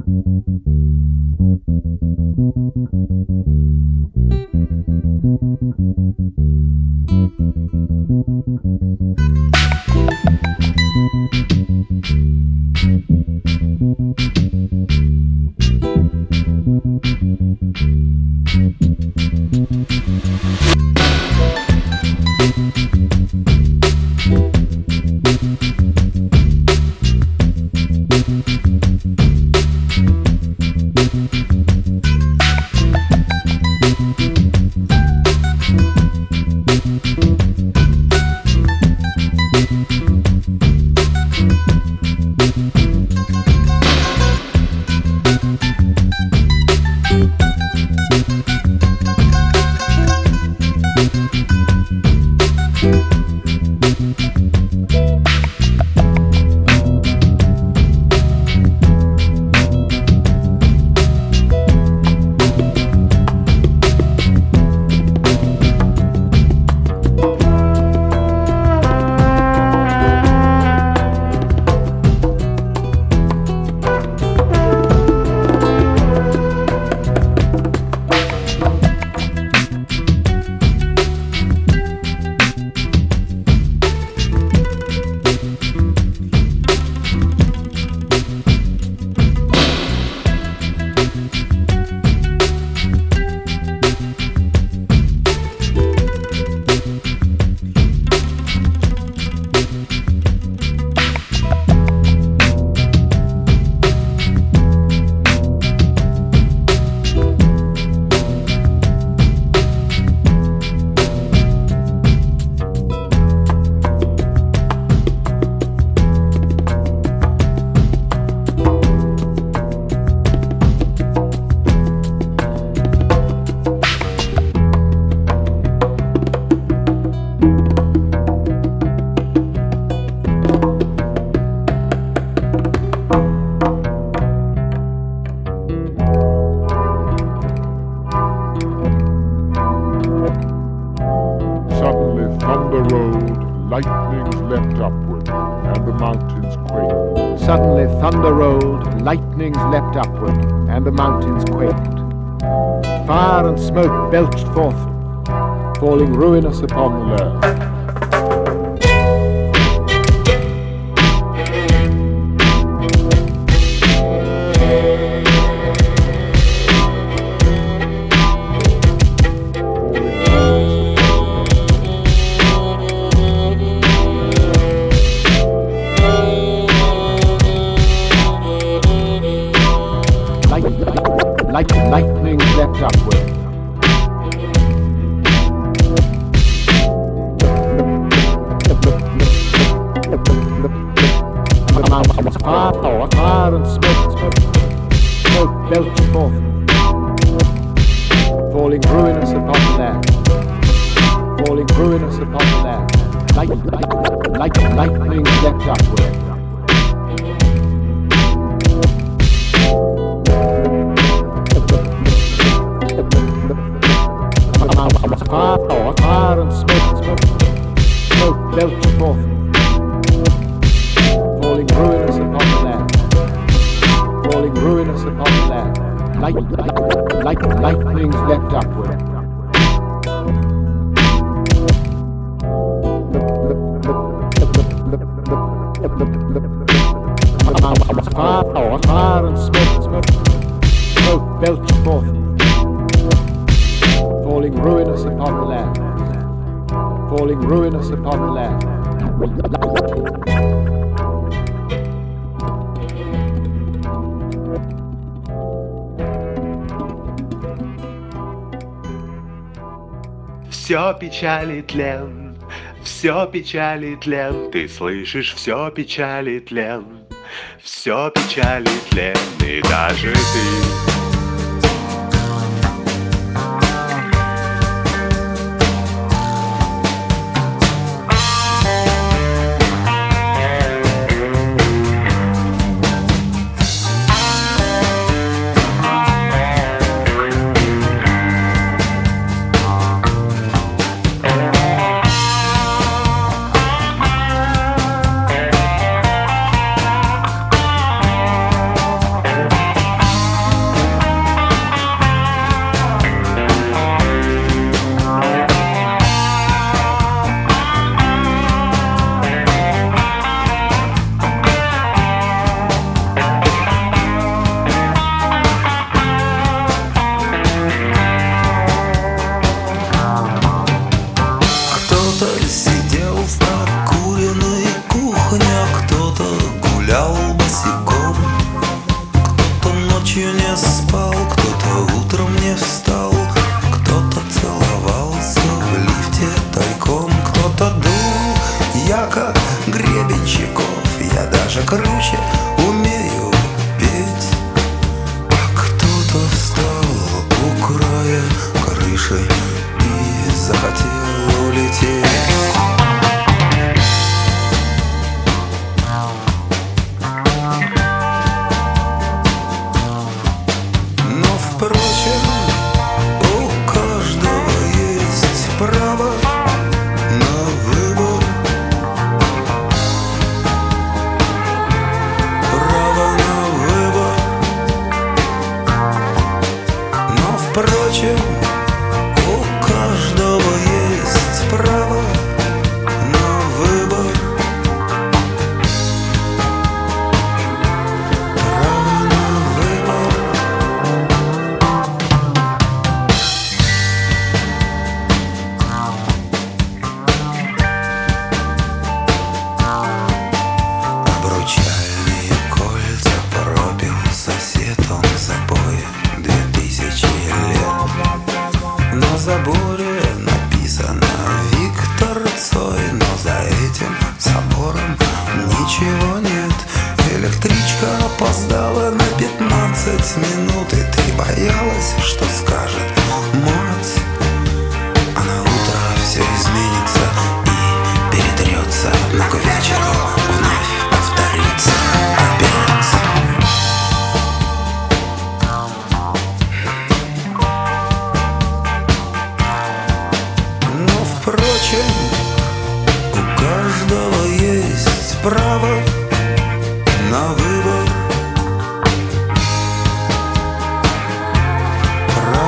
Suddenly thunder rolled, lightnings leapt upward, and the mountains quaked. Fire and smoke belched forth, falling ruinous upon the earth. like lightning leapt upward. Fire and smoke belched forth, falling ruinous upon the land, falling ruinous upon the land, like lightning leapt upward. Fire and smoke belched forth, falling ruinous upon the land, falling ruinous upon the land, like lightnings leapt upward. Fire and smoke belched forth, falling ruinous upon the land, falling ruinous upon the land. Все печали тлен, все печали тлен, ты слышишь, все печали тлен, все печали тлен, и даже ты. Право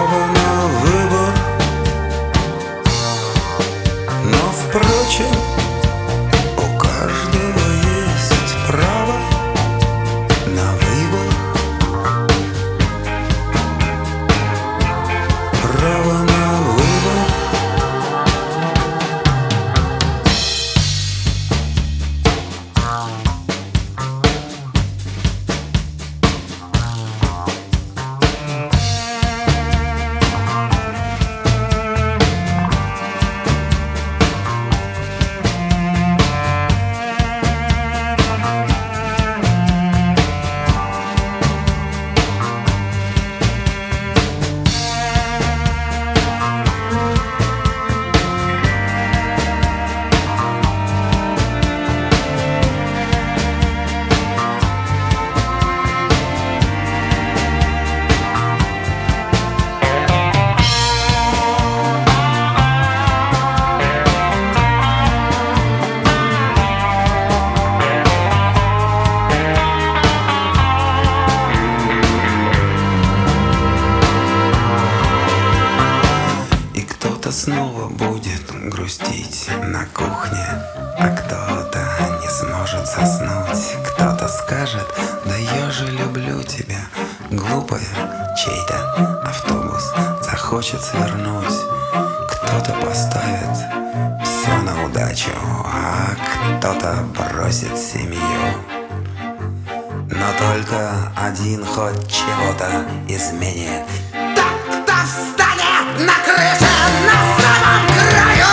снова будет грустить на кухне, а кто-то не сможет заснуть. Кто-то скажет: да я же люблю тебя. Глупая, чей-то автобус захочет свернуть. Кто-то поставит все на удачу, а кто-то бросит семью. Но только один хоть чего-то изменит. Тот, кто встанет на крыше на самом краю.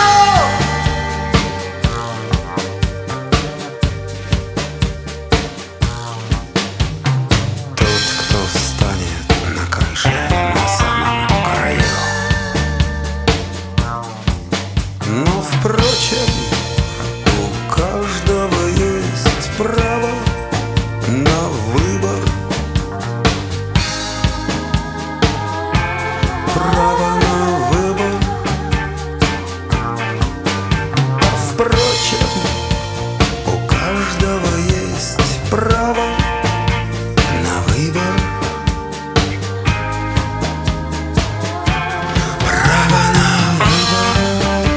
Тот, кто встанет на крыше на самом краю. Но, впрочем, у каждого есть право на выбор. Право на выбор. Впрочем, у каждого есть право на выбор. Право на выбор.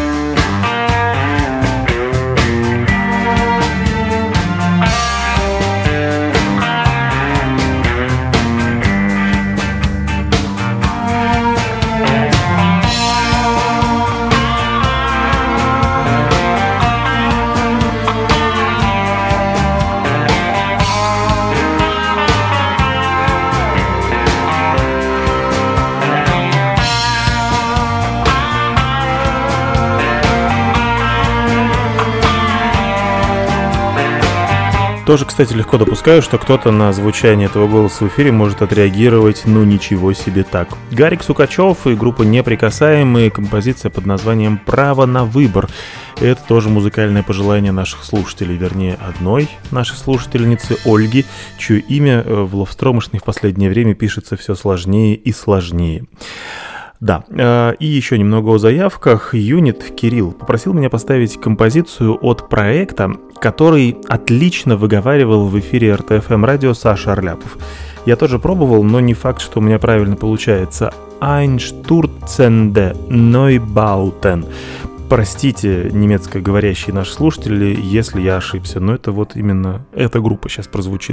Тоже, кстати, легко допускаю, что кто-то на звучание этого голоса в эфире может отреагировать «ну ничего себе так». Гарик Сукачев и группа «Неприкасаемые», композиция под названием «Право на выбор». И это тоже музыкальное пожелание наших слушателей, вернее, одной нашей слушательницы Ольги, чье имя в Ловстромышной в последнее время пишется все сложнее и сложнее. Да, и еще немного о заявках. Юнит Кирилл попросил меня поставить композицию от проекта, который отлично выговаривал в эфире РТФМ радио Саша Орляпов. Я тоже пробовал, но не факт, что у меня правильно получается. Einstürzende Neubauten. Простите, немецкоговорящие наши слушатели, если я ошибся, но это вот именно эта группа сейчас прозвучит.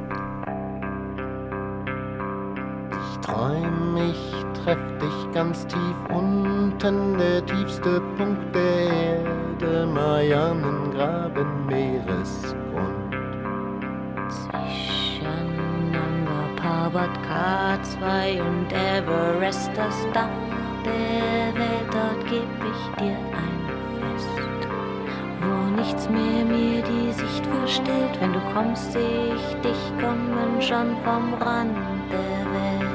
Ganz tief unten, der tiefste Punkt der Erde, Marianengraben, Meeresgrund. Zwischen Nanga Parbat, K2 und Everest, das Dach der Welt, dort geb ich dir ein Fest, wo nichts mehr mir die Sicht verstellt. Wenn du kommst, seh ich dich kommen schon vom Rand der Welt.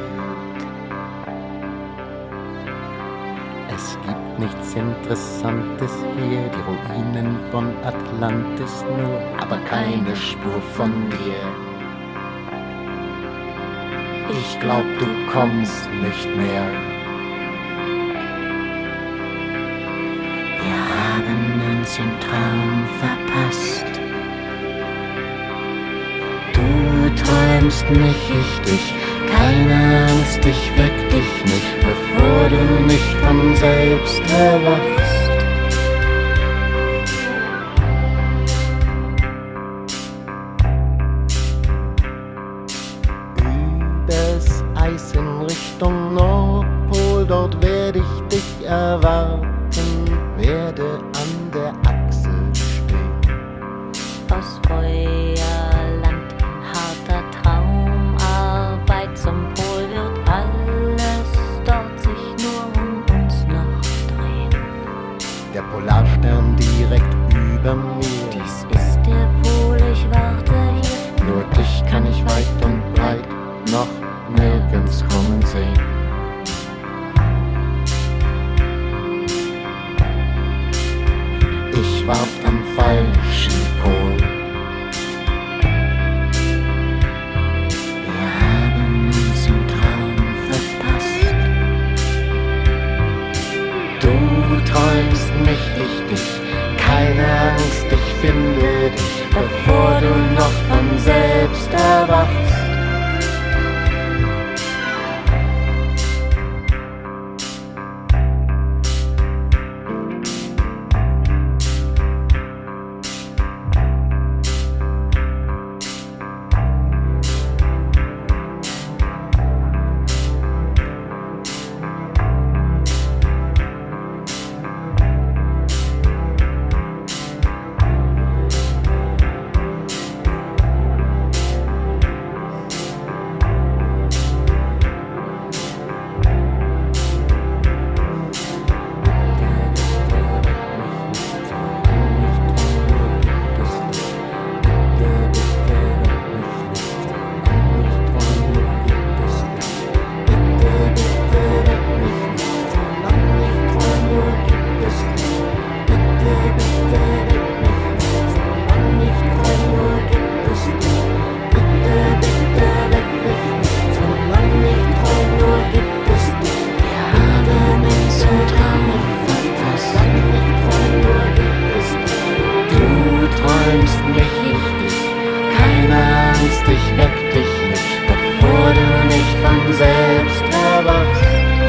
Es gibt nichts Interessantes hier, die Ruinen von Atlantis nur, aber keine Spur von dir. Ich glaub, du kommst nicht mehr. Wir haben uns im Traum verpasst. Du träumst mich, ich dich. Keine Angst, ich weck dich nicht, bevor du nicht von selbst erwachst. Übers Eis in Richtung Nordpol, dort werde ich dich erwarten, werde an der Achse stehen. Aus Feuerland, harter Traumarbeit zum Pol wird alles dort sich nur um uns noch drehen. träumst mich richtig, keine Angst, ich weck dich nicht, bevor du nicht von selbst erwachst.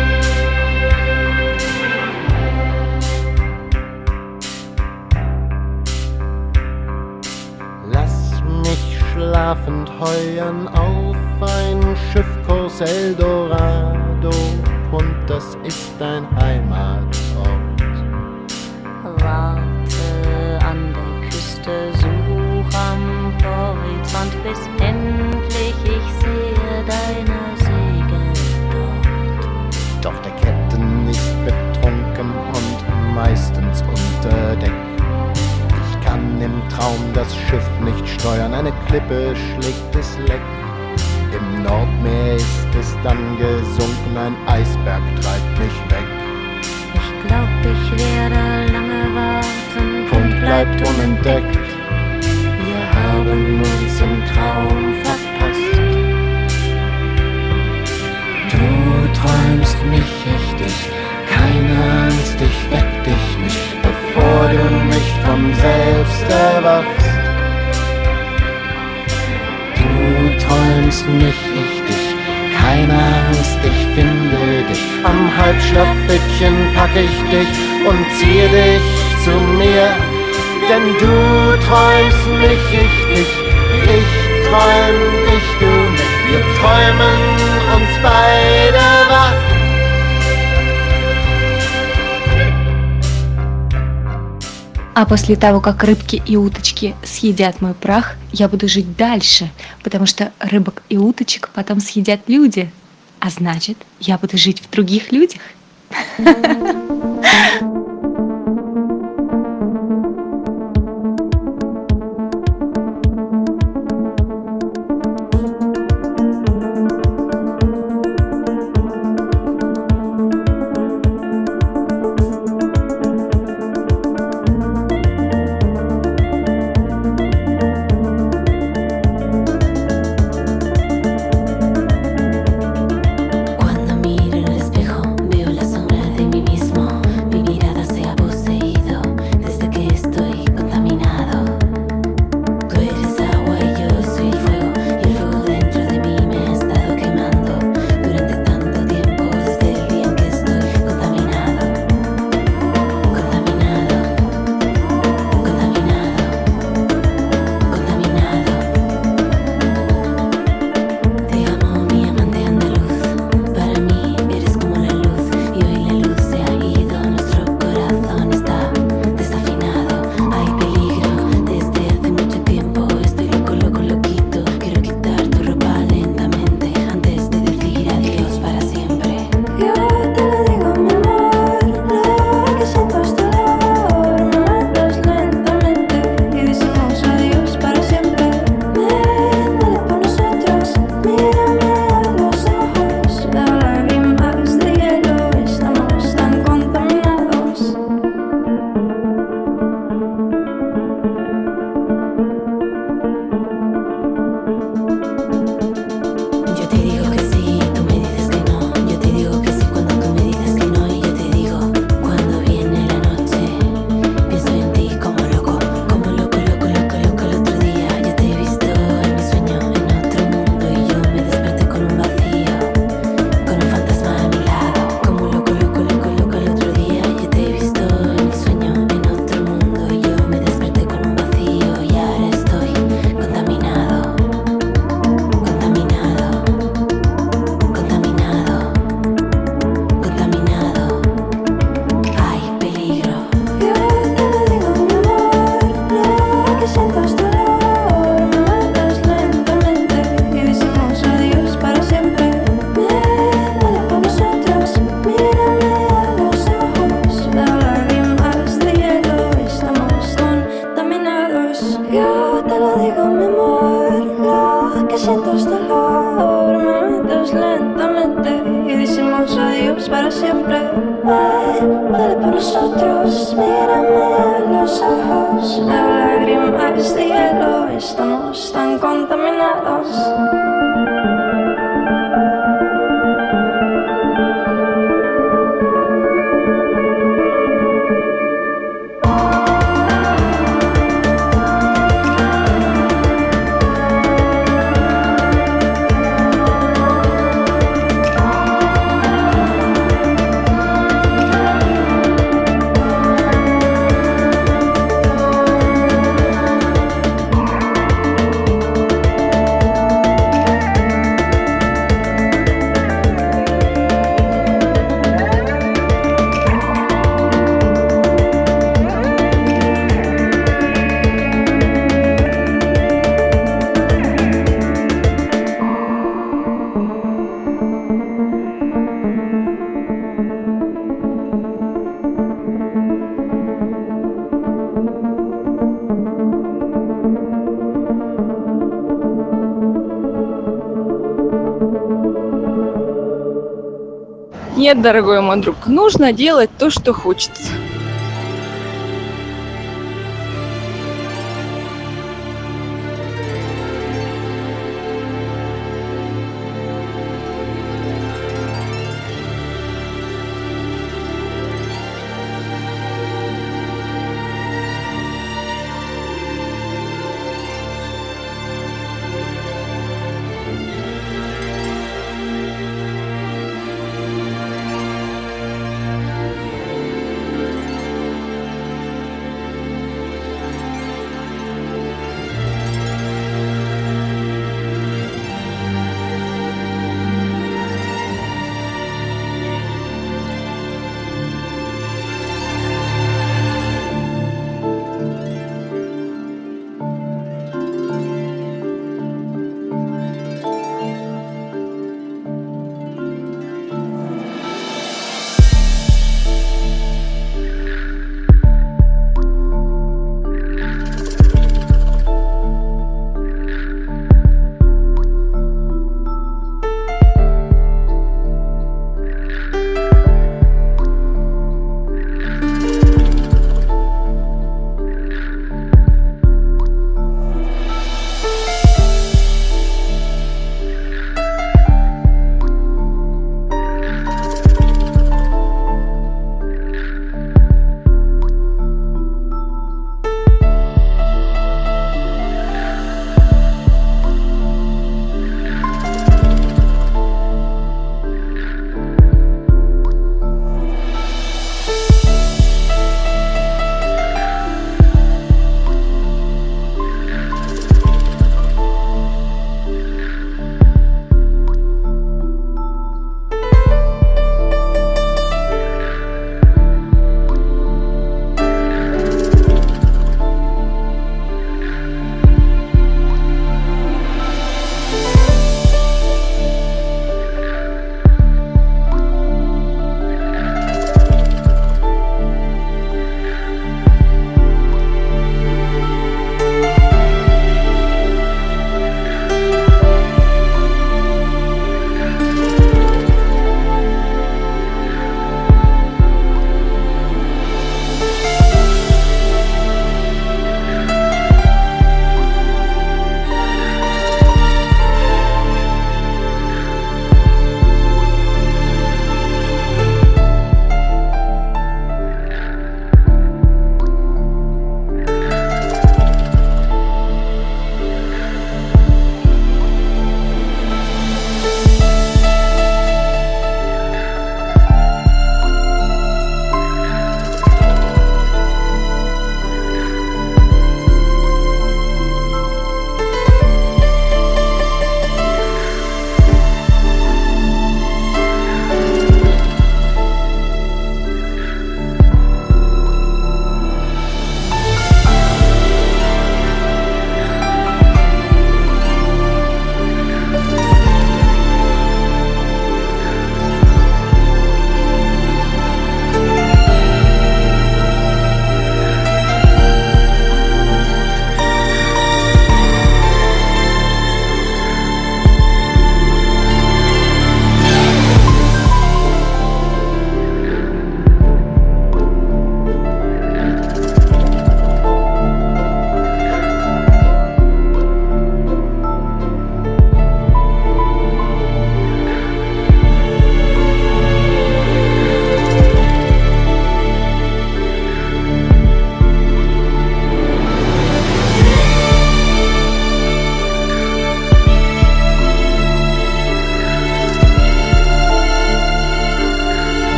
Lass mich schlafend heuern auf ein Schiffkurs Eldorado, und das ist dein Heimatort. Warte an der Küste, such am Horizont, bis endlich ich sehe deine Segel dort. Doch der Captain ist betrunken und meistens unter Deck. Ich kann im Traum das Schiff nicht steuern, eine Klippe schlägt es leck. Im Nordmeer ist es dann gesunken, ein Eisberg treibt mich weg. Ich glaub, ich werde lange warten Und bleibt unentdeckt. Wir haben uns im Traum verpasst. Du träumst mich richtig, keine Angst, ich weck dich nicht, bevor du nicht von selbst erwachst. Du träumst mich richtig, keine Angst, ich finde dich. Am Halbschlafbettchen pack ich dich und ziehe dich zu mir. Denn du träumst mich richtig, ich träum dich, du mit. Wir träumen uns beide wach. А после того, как рыбки и уточки съедят мой прах, я буду жить дальше, потому что рыбок и уточек потом съедят люди. А значит, я буду жить в других людях. Нет, дорогой мой друг, нужно делать то, что хочется.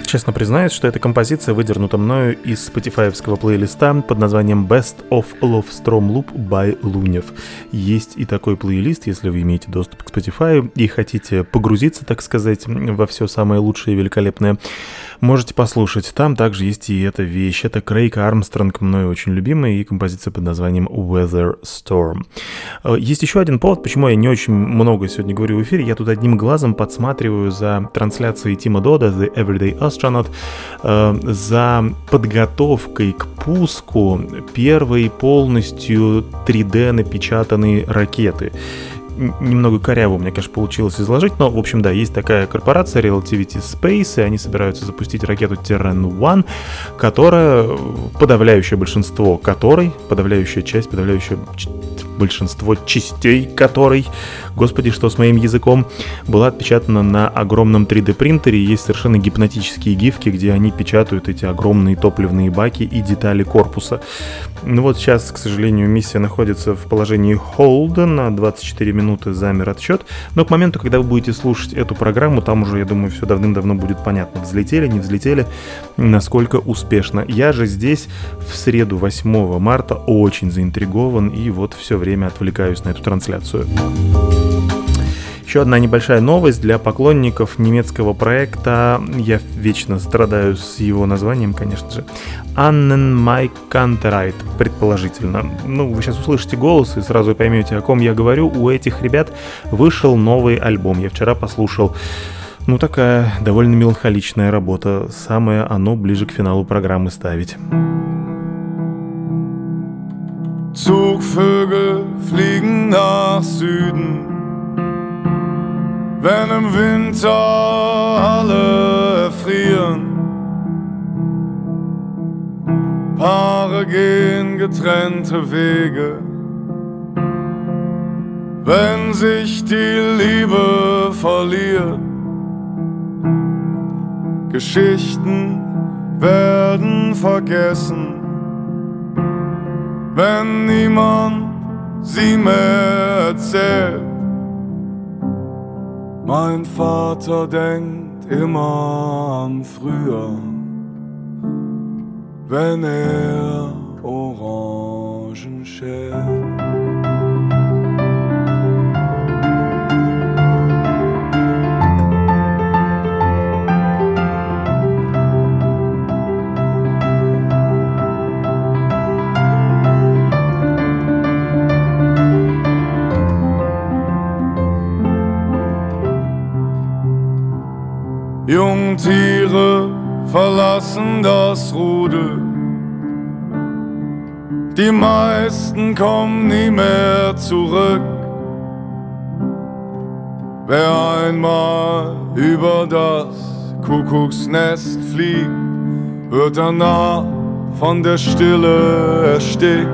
честно признаюсь, что эта композиция выдернута мною из спотифаевского плейлиста под названием Best of Lovestrom Loop by Лунев. Есть и такой плейлист, если вы имеете доступ к Spotify и хотите погрузиться, так сказать, во все самое лучшее и великолепное, можете послушать. Там также есть и эта вещь. Это Крейг Армстронг, мною очень любимый, и композиция под названием Weather Storm. Есть еще один повод, почему я не очень много сегодня говорю в эфире. Я тут одним глазом подсматриваю за трансляцией Тима Дода, The Everyday Astronaut, за подготовкой к пуску первой полностью 3D напечатанной ракеты. Немного коряво у меня, конечно, получилось изложить, но, в общем, да, есть такая корпорация Relativity Space, и они собираются запустить ракету Terran-1, которая, подавляющее большинство частей которой, господи, что с моим языком, была отпечатана на огромном 3D принтере. Есть совершенно гипнотические гифки, где они печатают эти огромные топливные баки и детали корпуса. Ну вот сейчас, к сожалению, миссия находится в положении hold, на 24 минуты замер отсчет, но к моменту, когда вы будете слушать эту программу, там уже, я думаю, все давным-давно будет понятно, взлетели, не взлетели, насколько успешно. Я же здесь в среду 8 марта очень заинтригован и вот все время отвлекаюсь на эту трансляцию. Еще одна небольшая новость для поклонников немецкого проекта. Я вечно страдаю с его названием, конечно же. Annen Mai Kantereit, предположительно. Ну, вы сейчас услышите голос и сразу поймете, о ком я говорю. У этих ребят вышел новый альбом. Я вчера послушал. Ну, такая довольно меланхоличная работа. Самое оно ближе к финалу программы ставить. Zugvögel fliegen nach Süden, wenn im Winter alle erfrieren. Paare gehen getrennte Wege, wenn sich die Liebe verliert. Geschichten werden vergessen, wenn niemand sie mehr erzählt. Mein Vater denkt immer an früher, wenn Orangen schält. Jungtiere verlassen das Rudel, die meisten kommen nie mehr zurück. Wer einmal über das Kuckucksnest fliegt, wird danach von der Stille erstickt.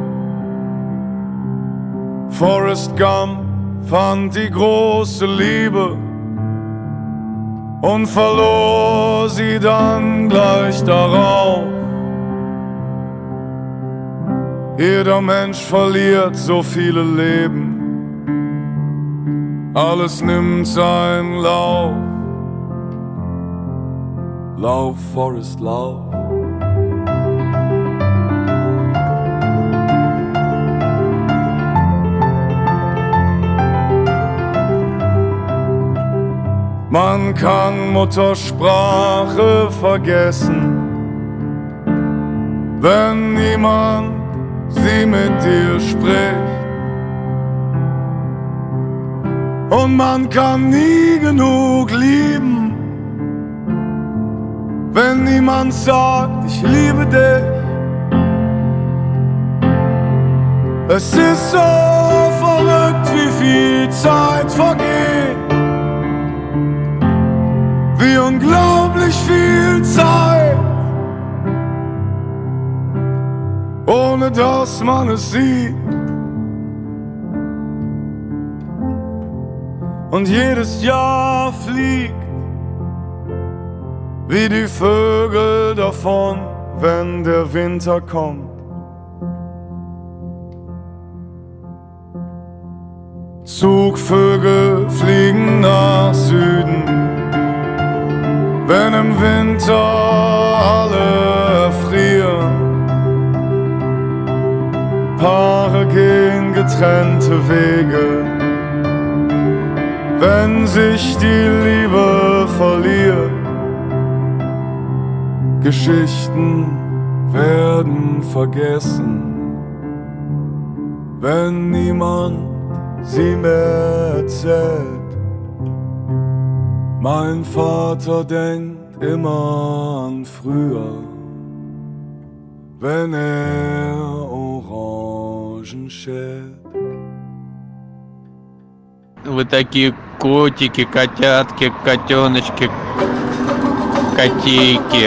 Forrest Gump fand die große Liebe und verlor sie dann gleich darauf. Jeder Mensch verliert so viele Leben, alles nimmt seinen Lauf. Lauf, Forrest, lauf. Man kann Muttersprache vergessen, wenn niemand sie mit dir spricht. Und man kann nie genug lieben, wenn niemand sagt, ich liebe dich. Es ist so verrückt, wie viel Zeit vergeht. Wie unglaublich viel Zeit, ohne dass man es sieht. Und jedes Jahr fliegt wie die Vögel davon, wenn der Winter kommt. Zugvögel fliegen nach Süden, wenn im Winter getrennte Wege. Wenn sich die Liebe verliert, Geschichten werden vergessen, wenn niemand sie mehr erzählt. Mein Vater denkt immer an früher, wenn Orangen schält. Вы такие котики, котятки, котеночки, котейки.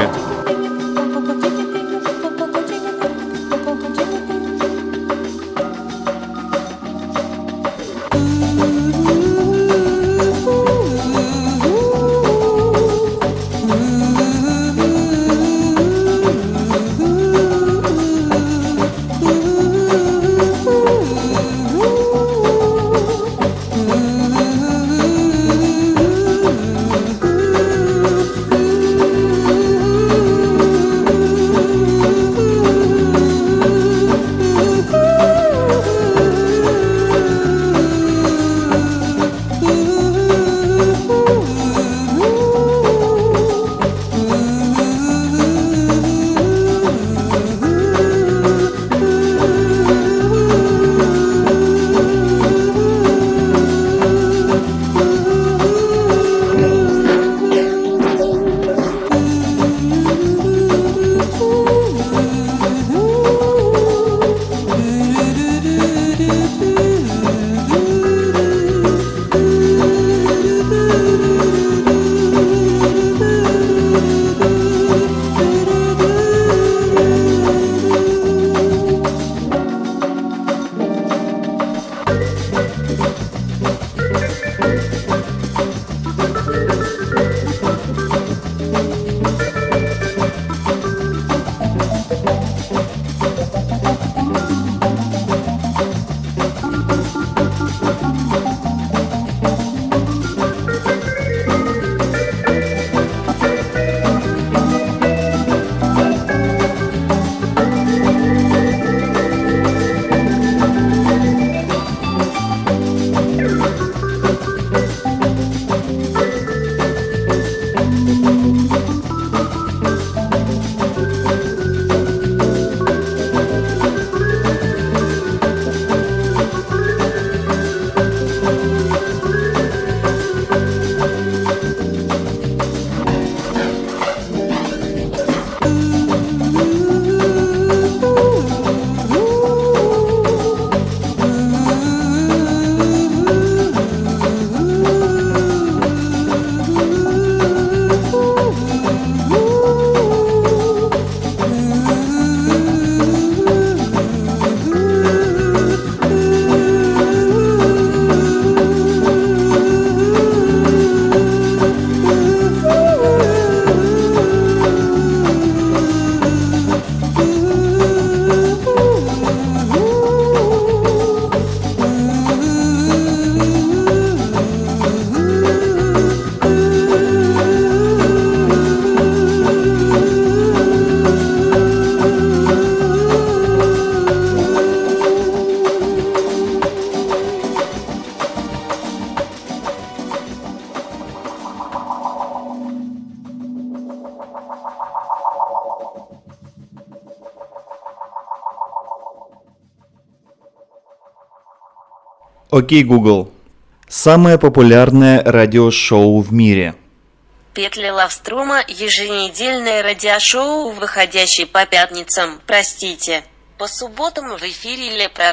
Окей, Google. Самое популярное радиошоу в мире. Петли Лавструма – еженедельное радиошоу, выходящее по пятницам, простите, по субботам в эфире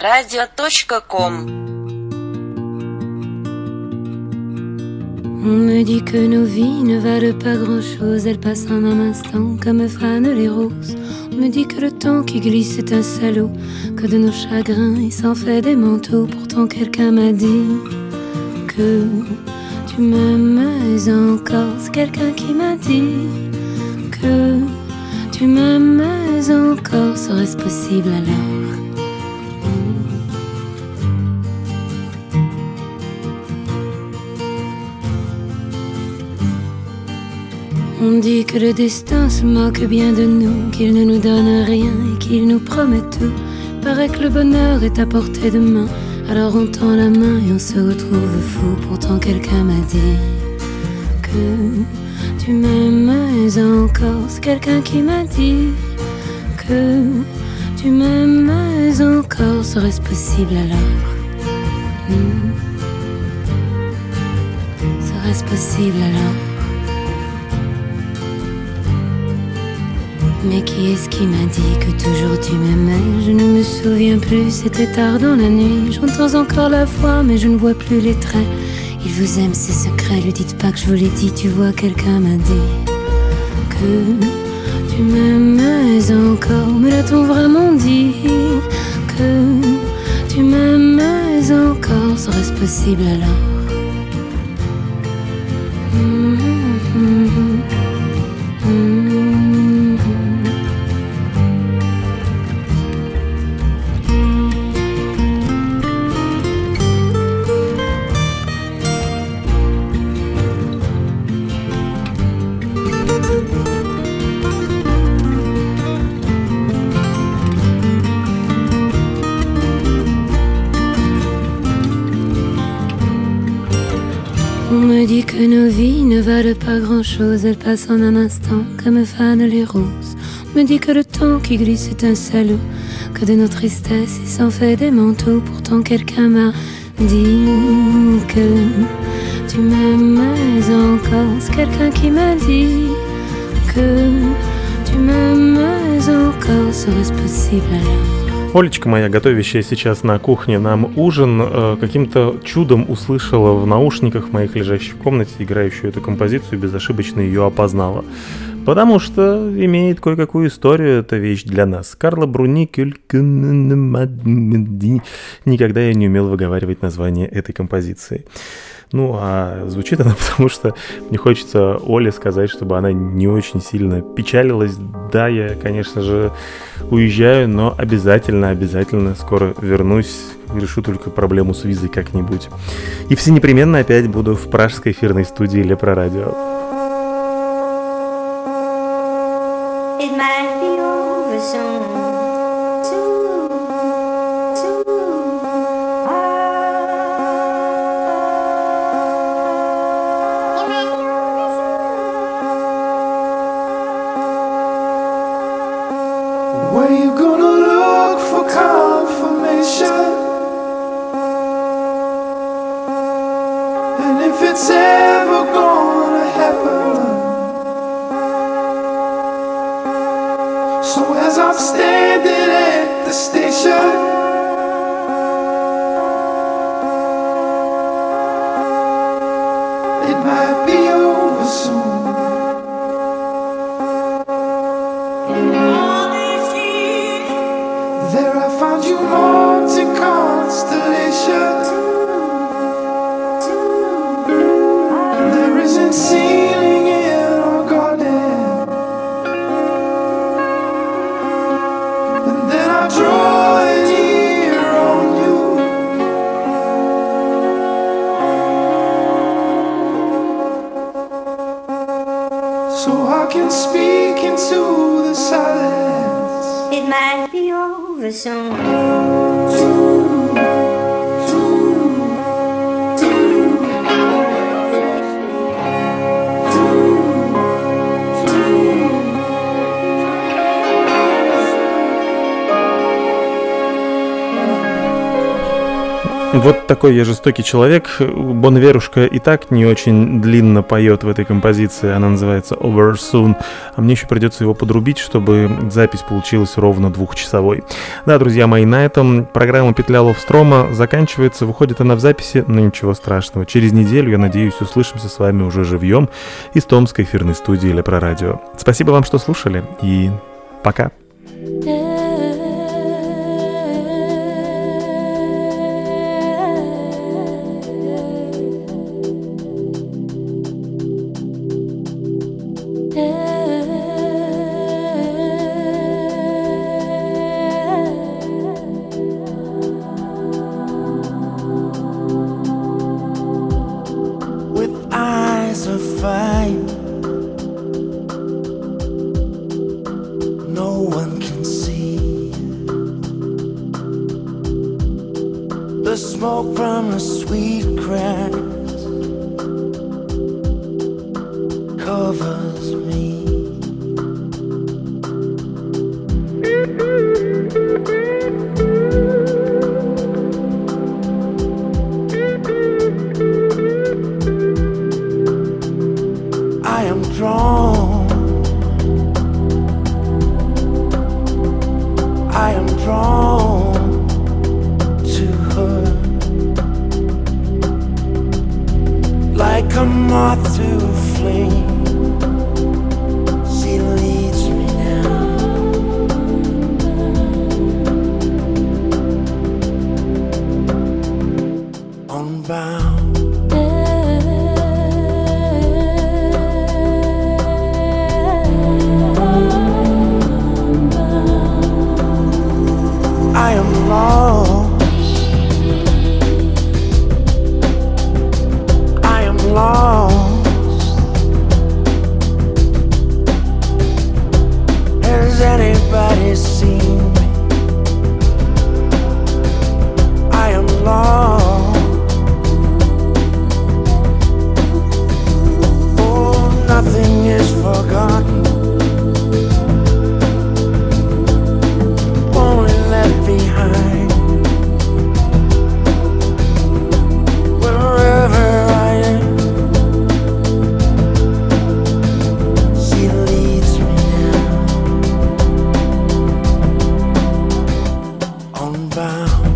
leproradio.com. On me dit que nos vies ne valent pas grand-chose, elles passent en un instant comme fanent les roses. On me dit que le temps qui glisse est un salaud, que de nos chagrins il s'en fait des manteaux. Pourtant quelqu'un m'a dit que tu m'aimes encore. C'est quelqu'un qui m'a dit que tu m'aimes encore. Serait-ce possible alors? On dit que le destin se moque bien de nous, qu'il ne nous donne rien et qu'il nous promet tout. Paraît que le bonheur est à portée de main, Alors on tend la main et on se retrouve fou. Pourtant quelqu'un m'a dit que tu m'aimes encore. C'est quelqu'un qui m'a dit que tu m'aimes encore. Serait-ce possible alors? Serait-ce possible alors? Mais qui est-ce qui m'a dit que toujours tu m'aimais? Je ne me souviens plus, c'était tard dans la nuit. J'entends encore la voix, mais je ne vois plus les traits. Il vous aime, c'est secret, lui dites pas que je vous l'ai dit. Tu vois, quelqu'un m'a dit que tu m'aimais encore. Mais l'a-t-on vraiment dit que tu m'aimais encore? Serait-ce possible alors? On me dit que nos vies ne valent pas grand-chose, elles passent en un instant comme fanent les roses. On me dit que le temps qui glisse est un salaud, que de nos tristesses il s'en fait des manteaux. Pourtant quelqu'un m'a dit que tu m'aimais encore. C'est quelqu'un qui m'a dit que tu m'aimais encore. Serait-ce possible alors? Олечка моя, готовящая сейчас на кухне нам ужин, каким-то чудом услышала в наушниках моих, лежащих в комнате, играющую эту композицию, безошибочно ее опознала. Потому что имеет кое-какую историю эта вещь для нас. Карла Бруни, никогда я не умел выговаривать название этой композиции. Ну, а звучит она потому, что мне хочется Оле сказать, чтобы она не очень сильно печалилась. Да, я, конечно же, уезжаю, но обязательно скоро вернусь. Решу только проблему с визой как-нибудь. И все непременно опять буду в пражской эфирной студии Лепро Радио. Вот такой я жестокий человек. Бон Иверушка и так не очень длинно поет в этой композиции. Она называется Over Soon. А мне еще придется его подрубить, чтобы запись получилась ровно 2-часовой. Да, друзья мои, на этом программа «Петля Ловстрома» заканчивается. Выходит она в записи, но ничего страшного. Через неделю, я надеюсь, услышимся с вами уже живьем из томской эфирной студии Лепро Радио. Спасибо вам, что слушали, и пока. The Like a moth to a flame, she leads me down. Unbound. I am lost. I am lost. Has anybody seen me? I am lost. Oh, nothing is forgotten, only left behind. Wherever I am, she leads me down. Unbound.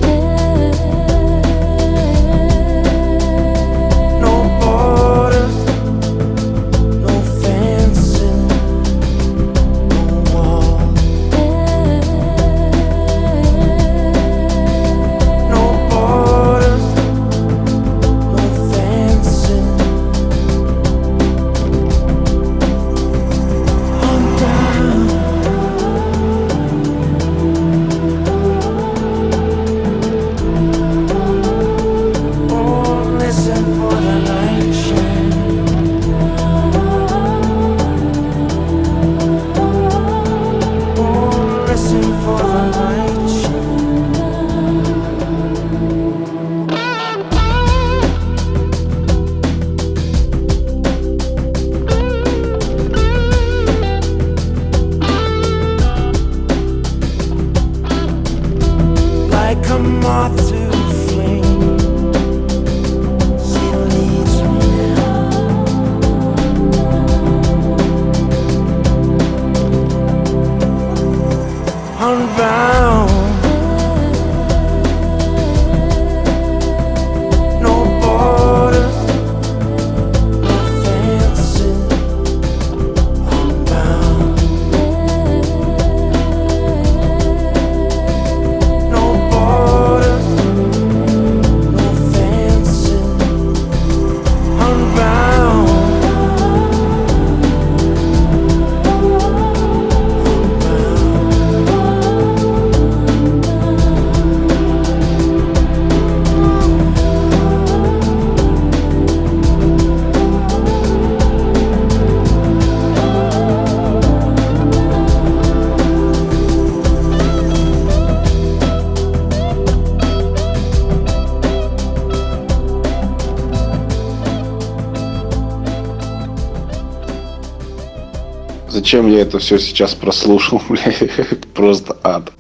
No borders, no fencing, no wall. No borders, no fencing. Unbound. Oh, listen for the light shine. Oh, listen for the light shine. Like a moth to a flame, she leads me down. Unbound. No borders, no fencing. Unbound. No borders, no fencing. Unbound. Зачем я это все сейчас прослушал, бля? Просто ад.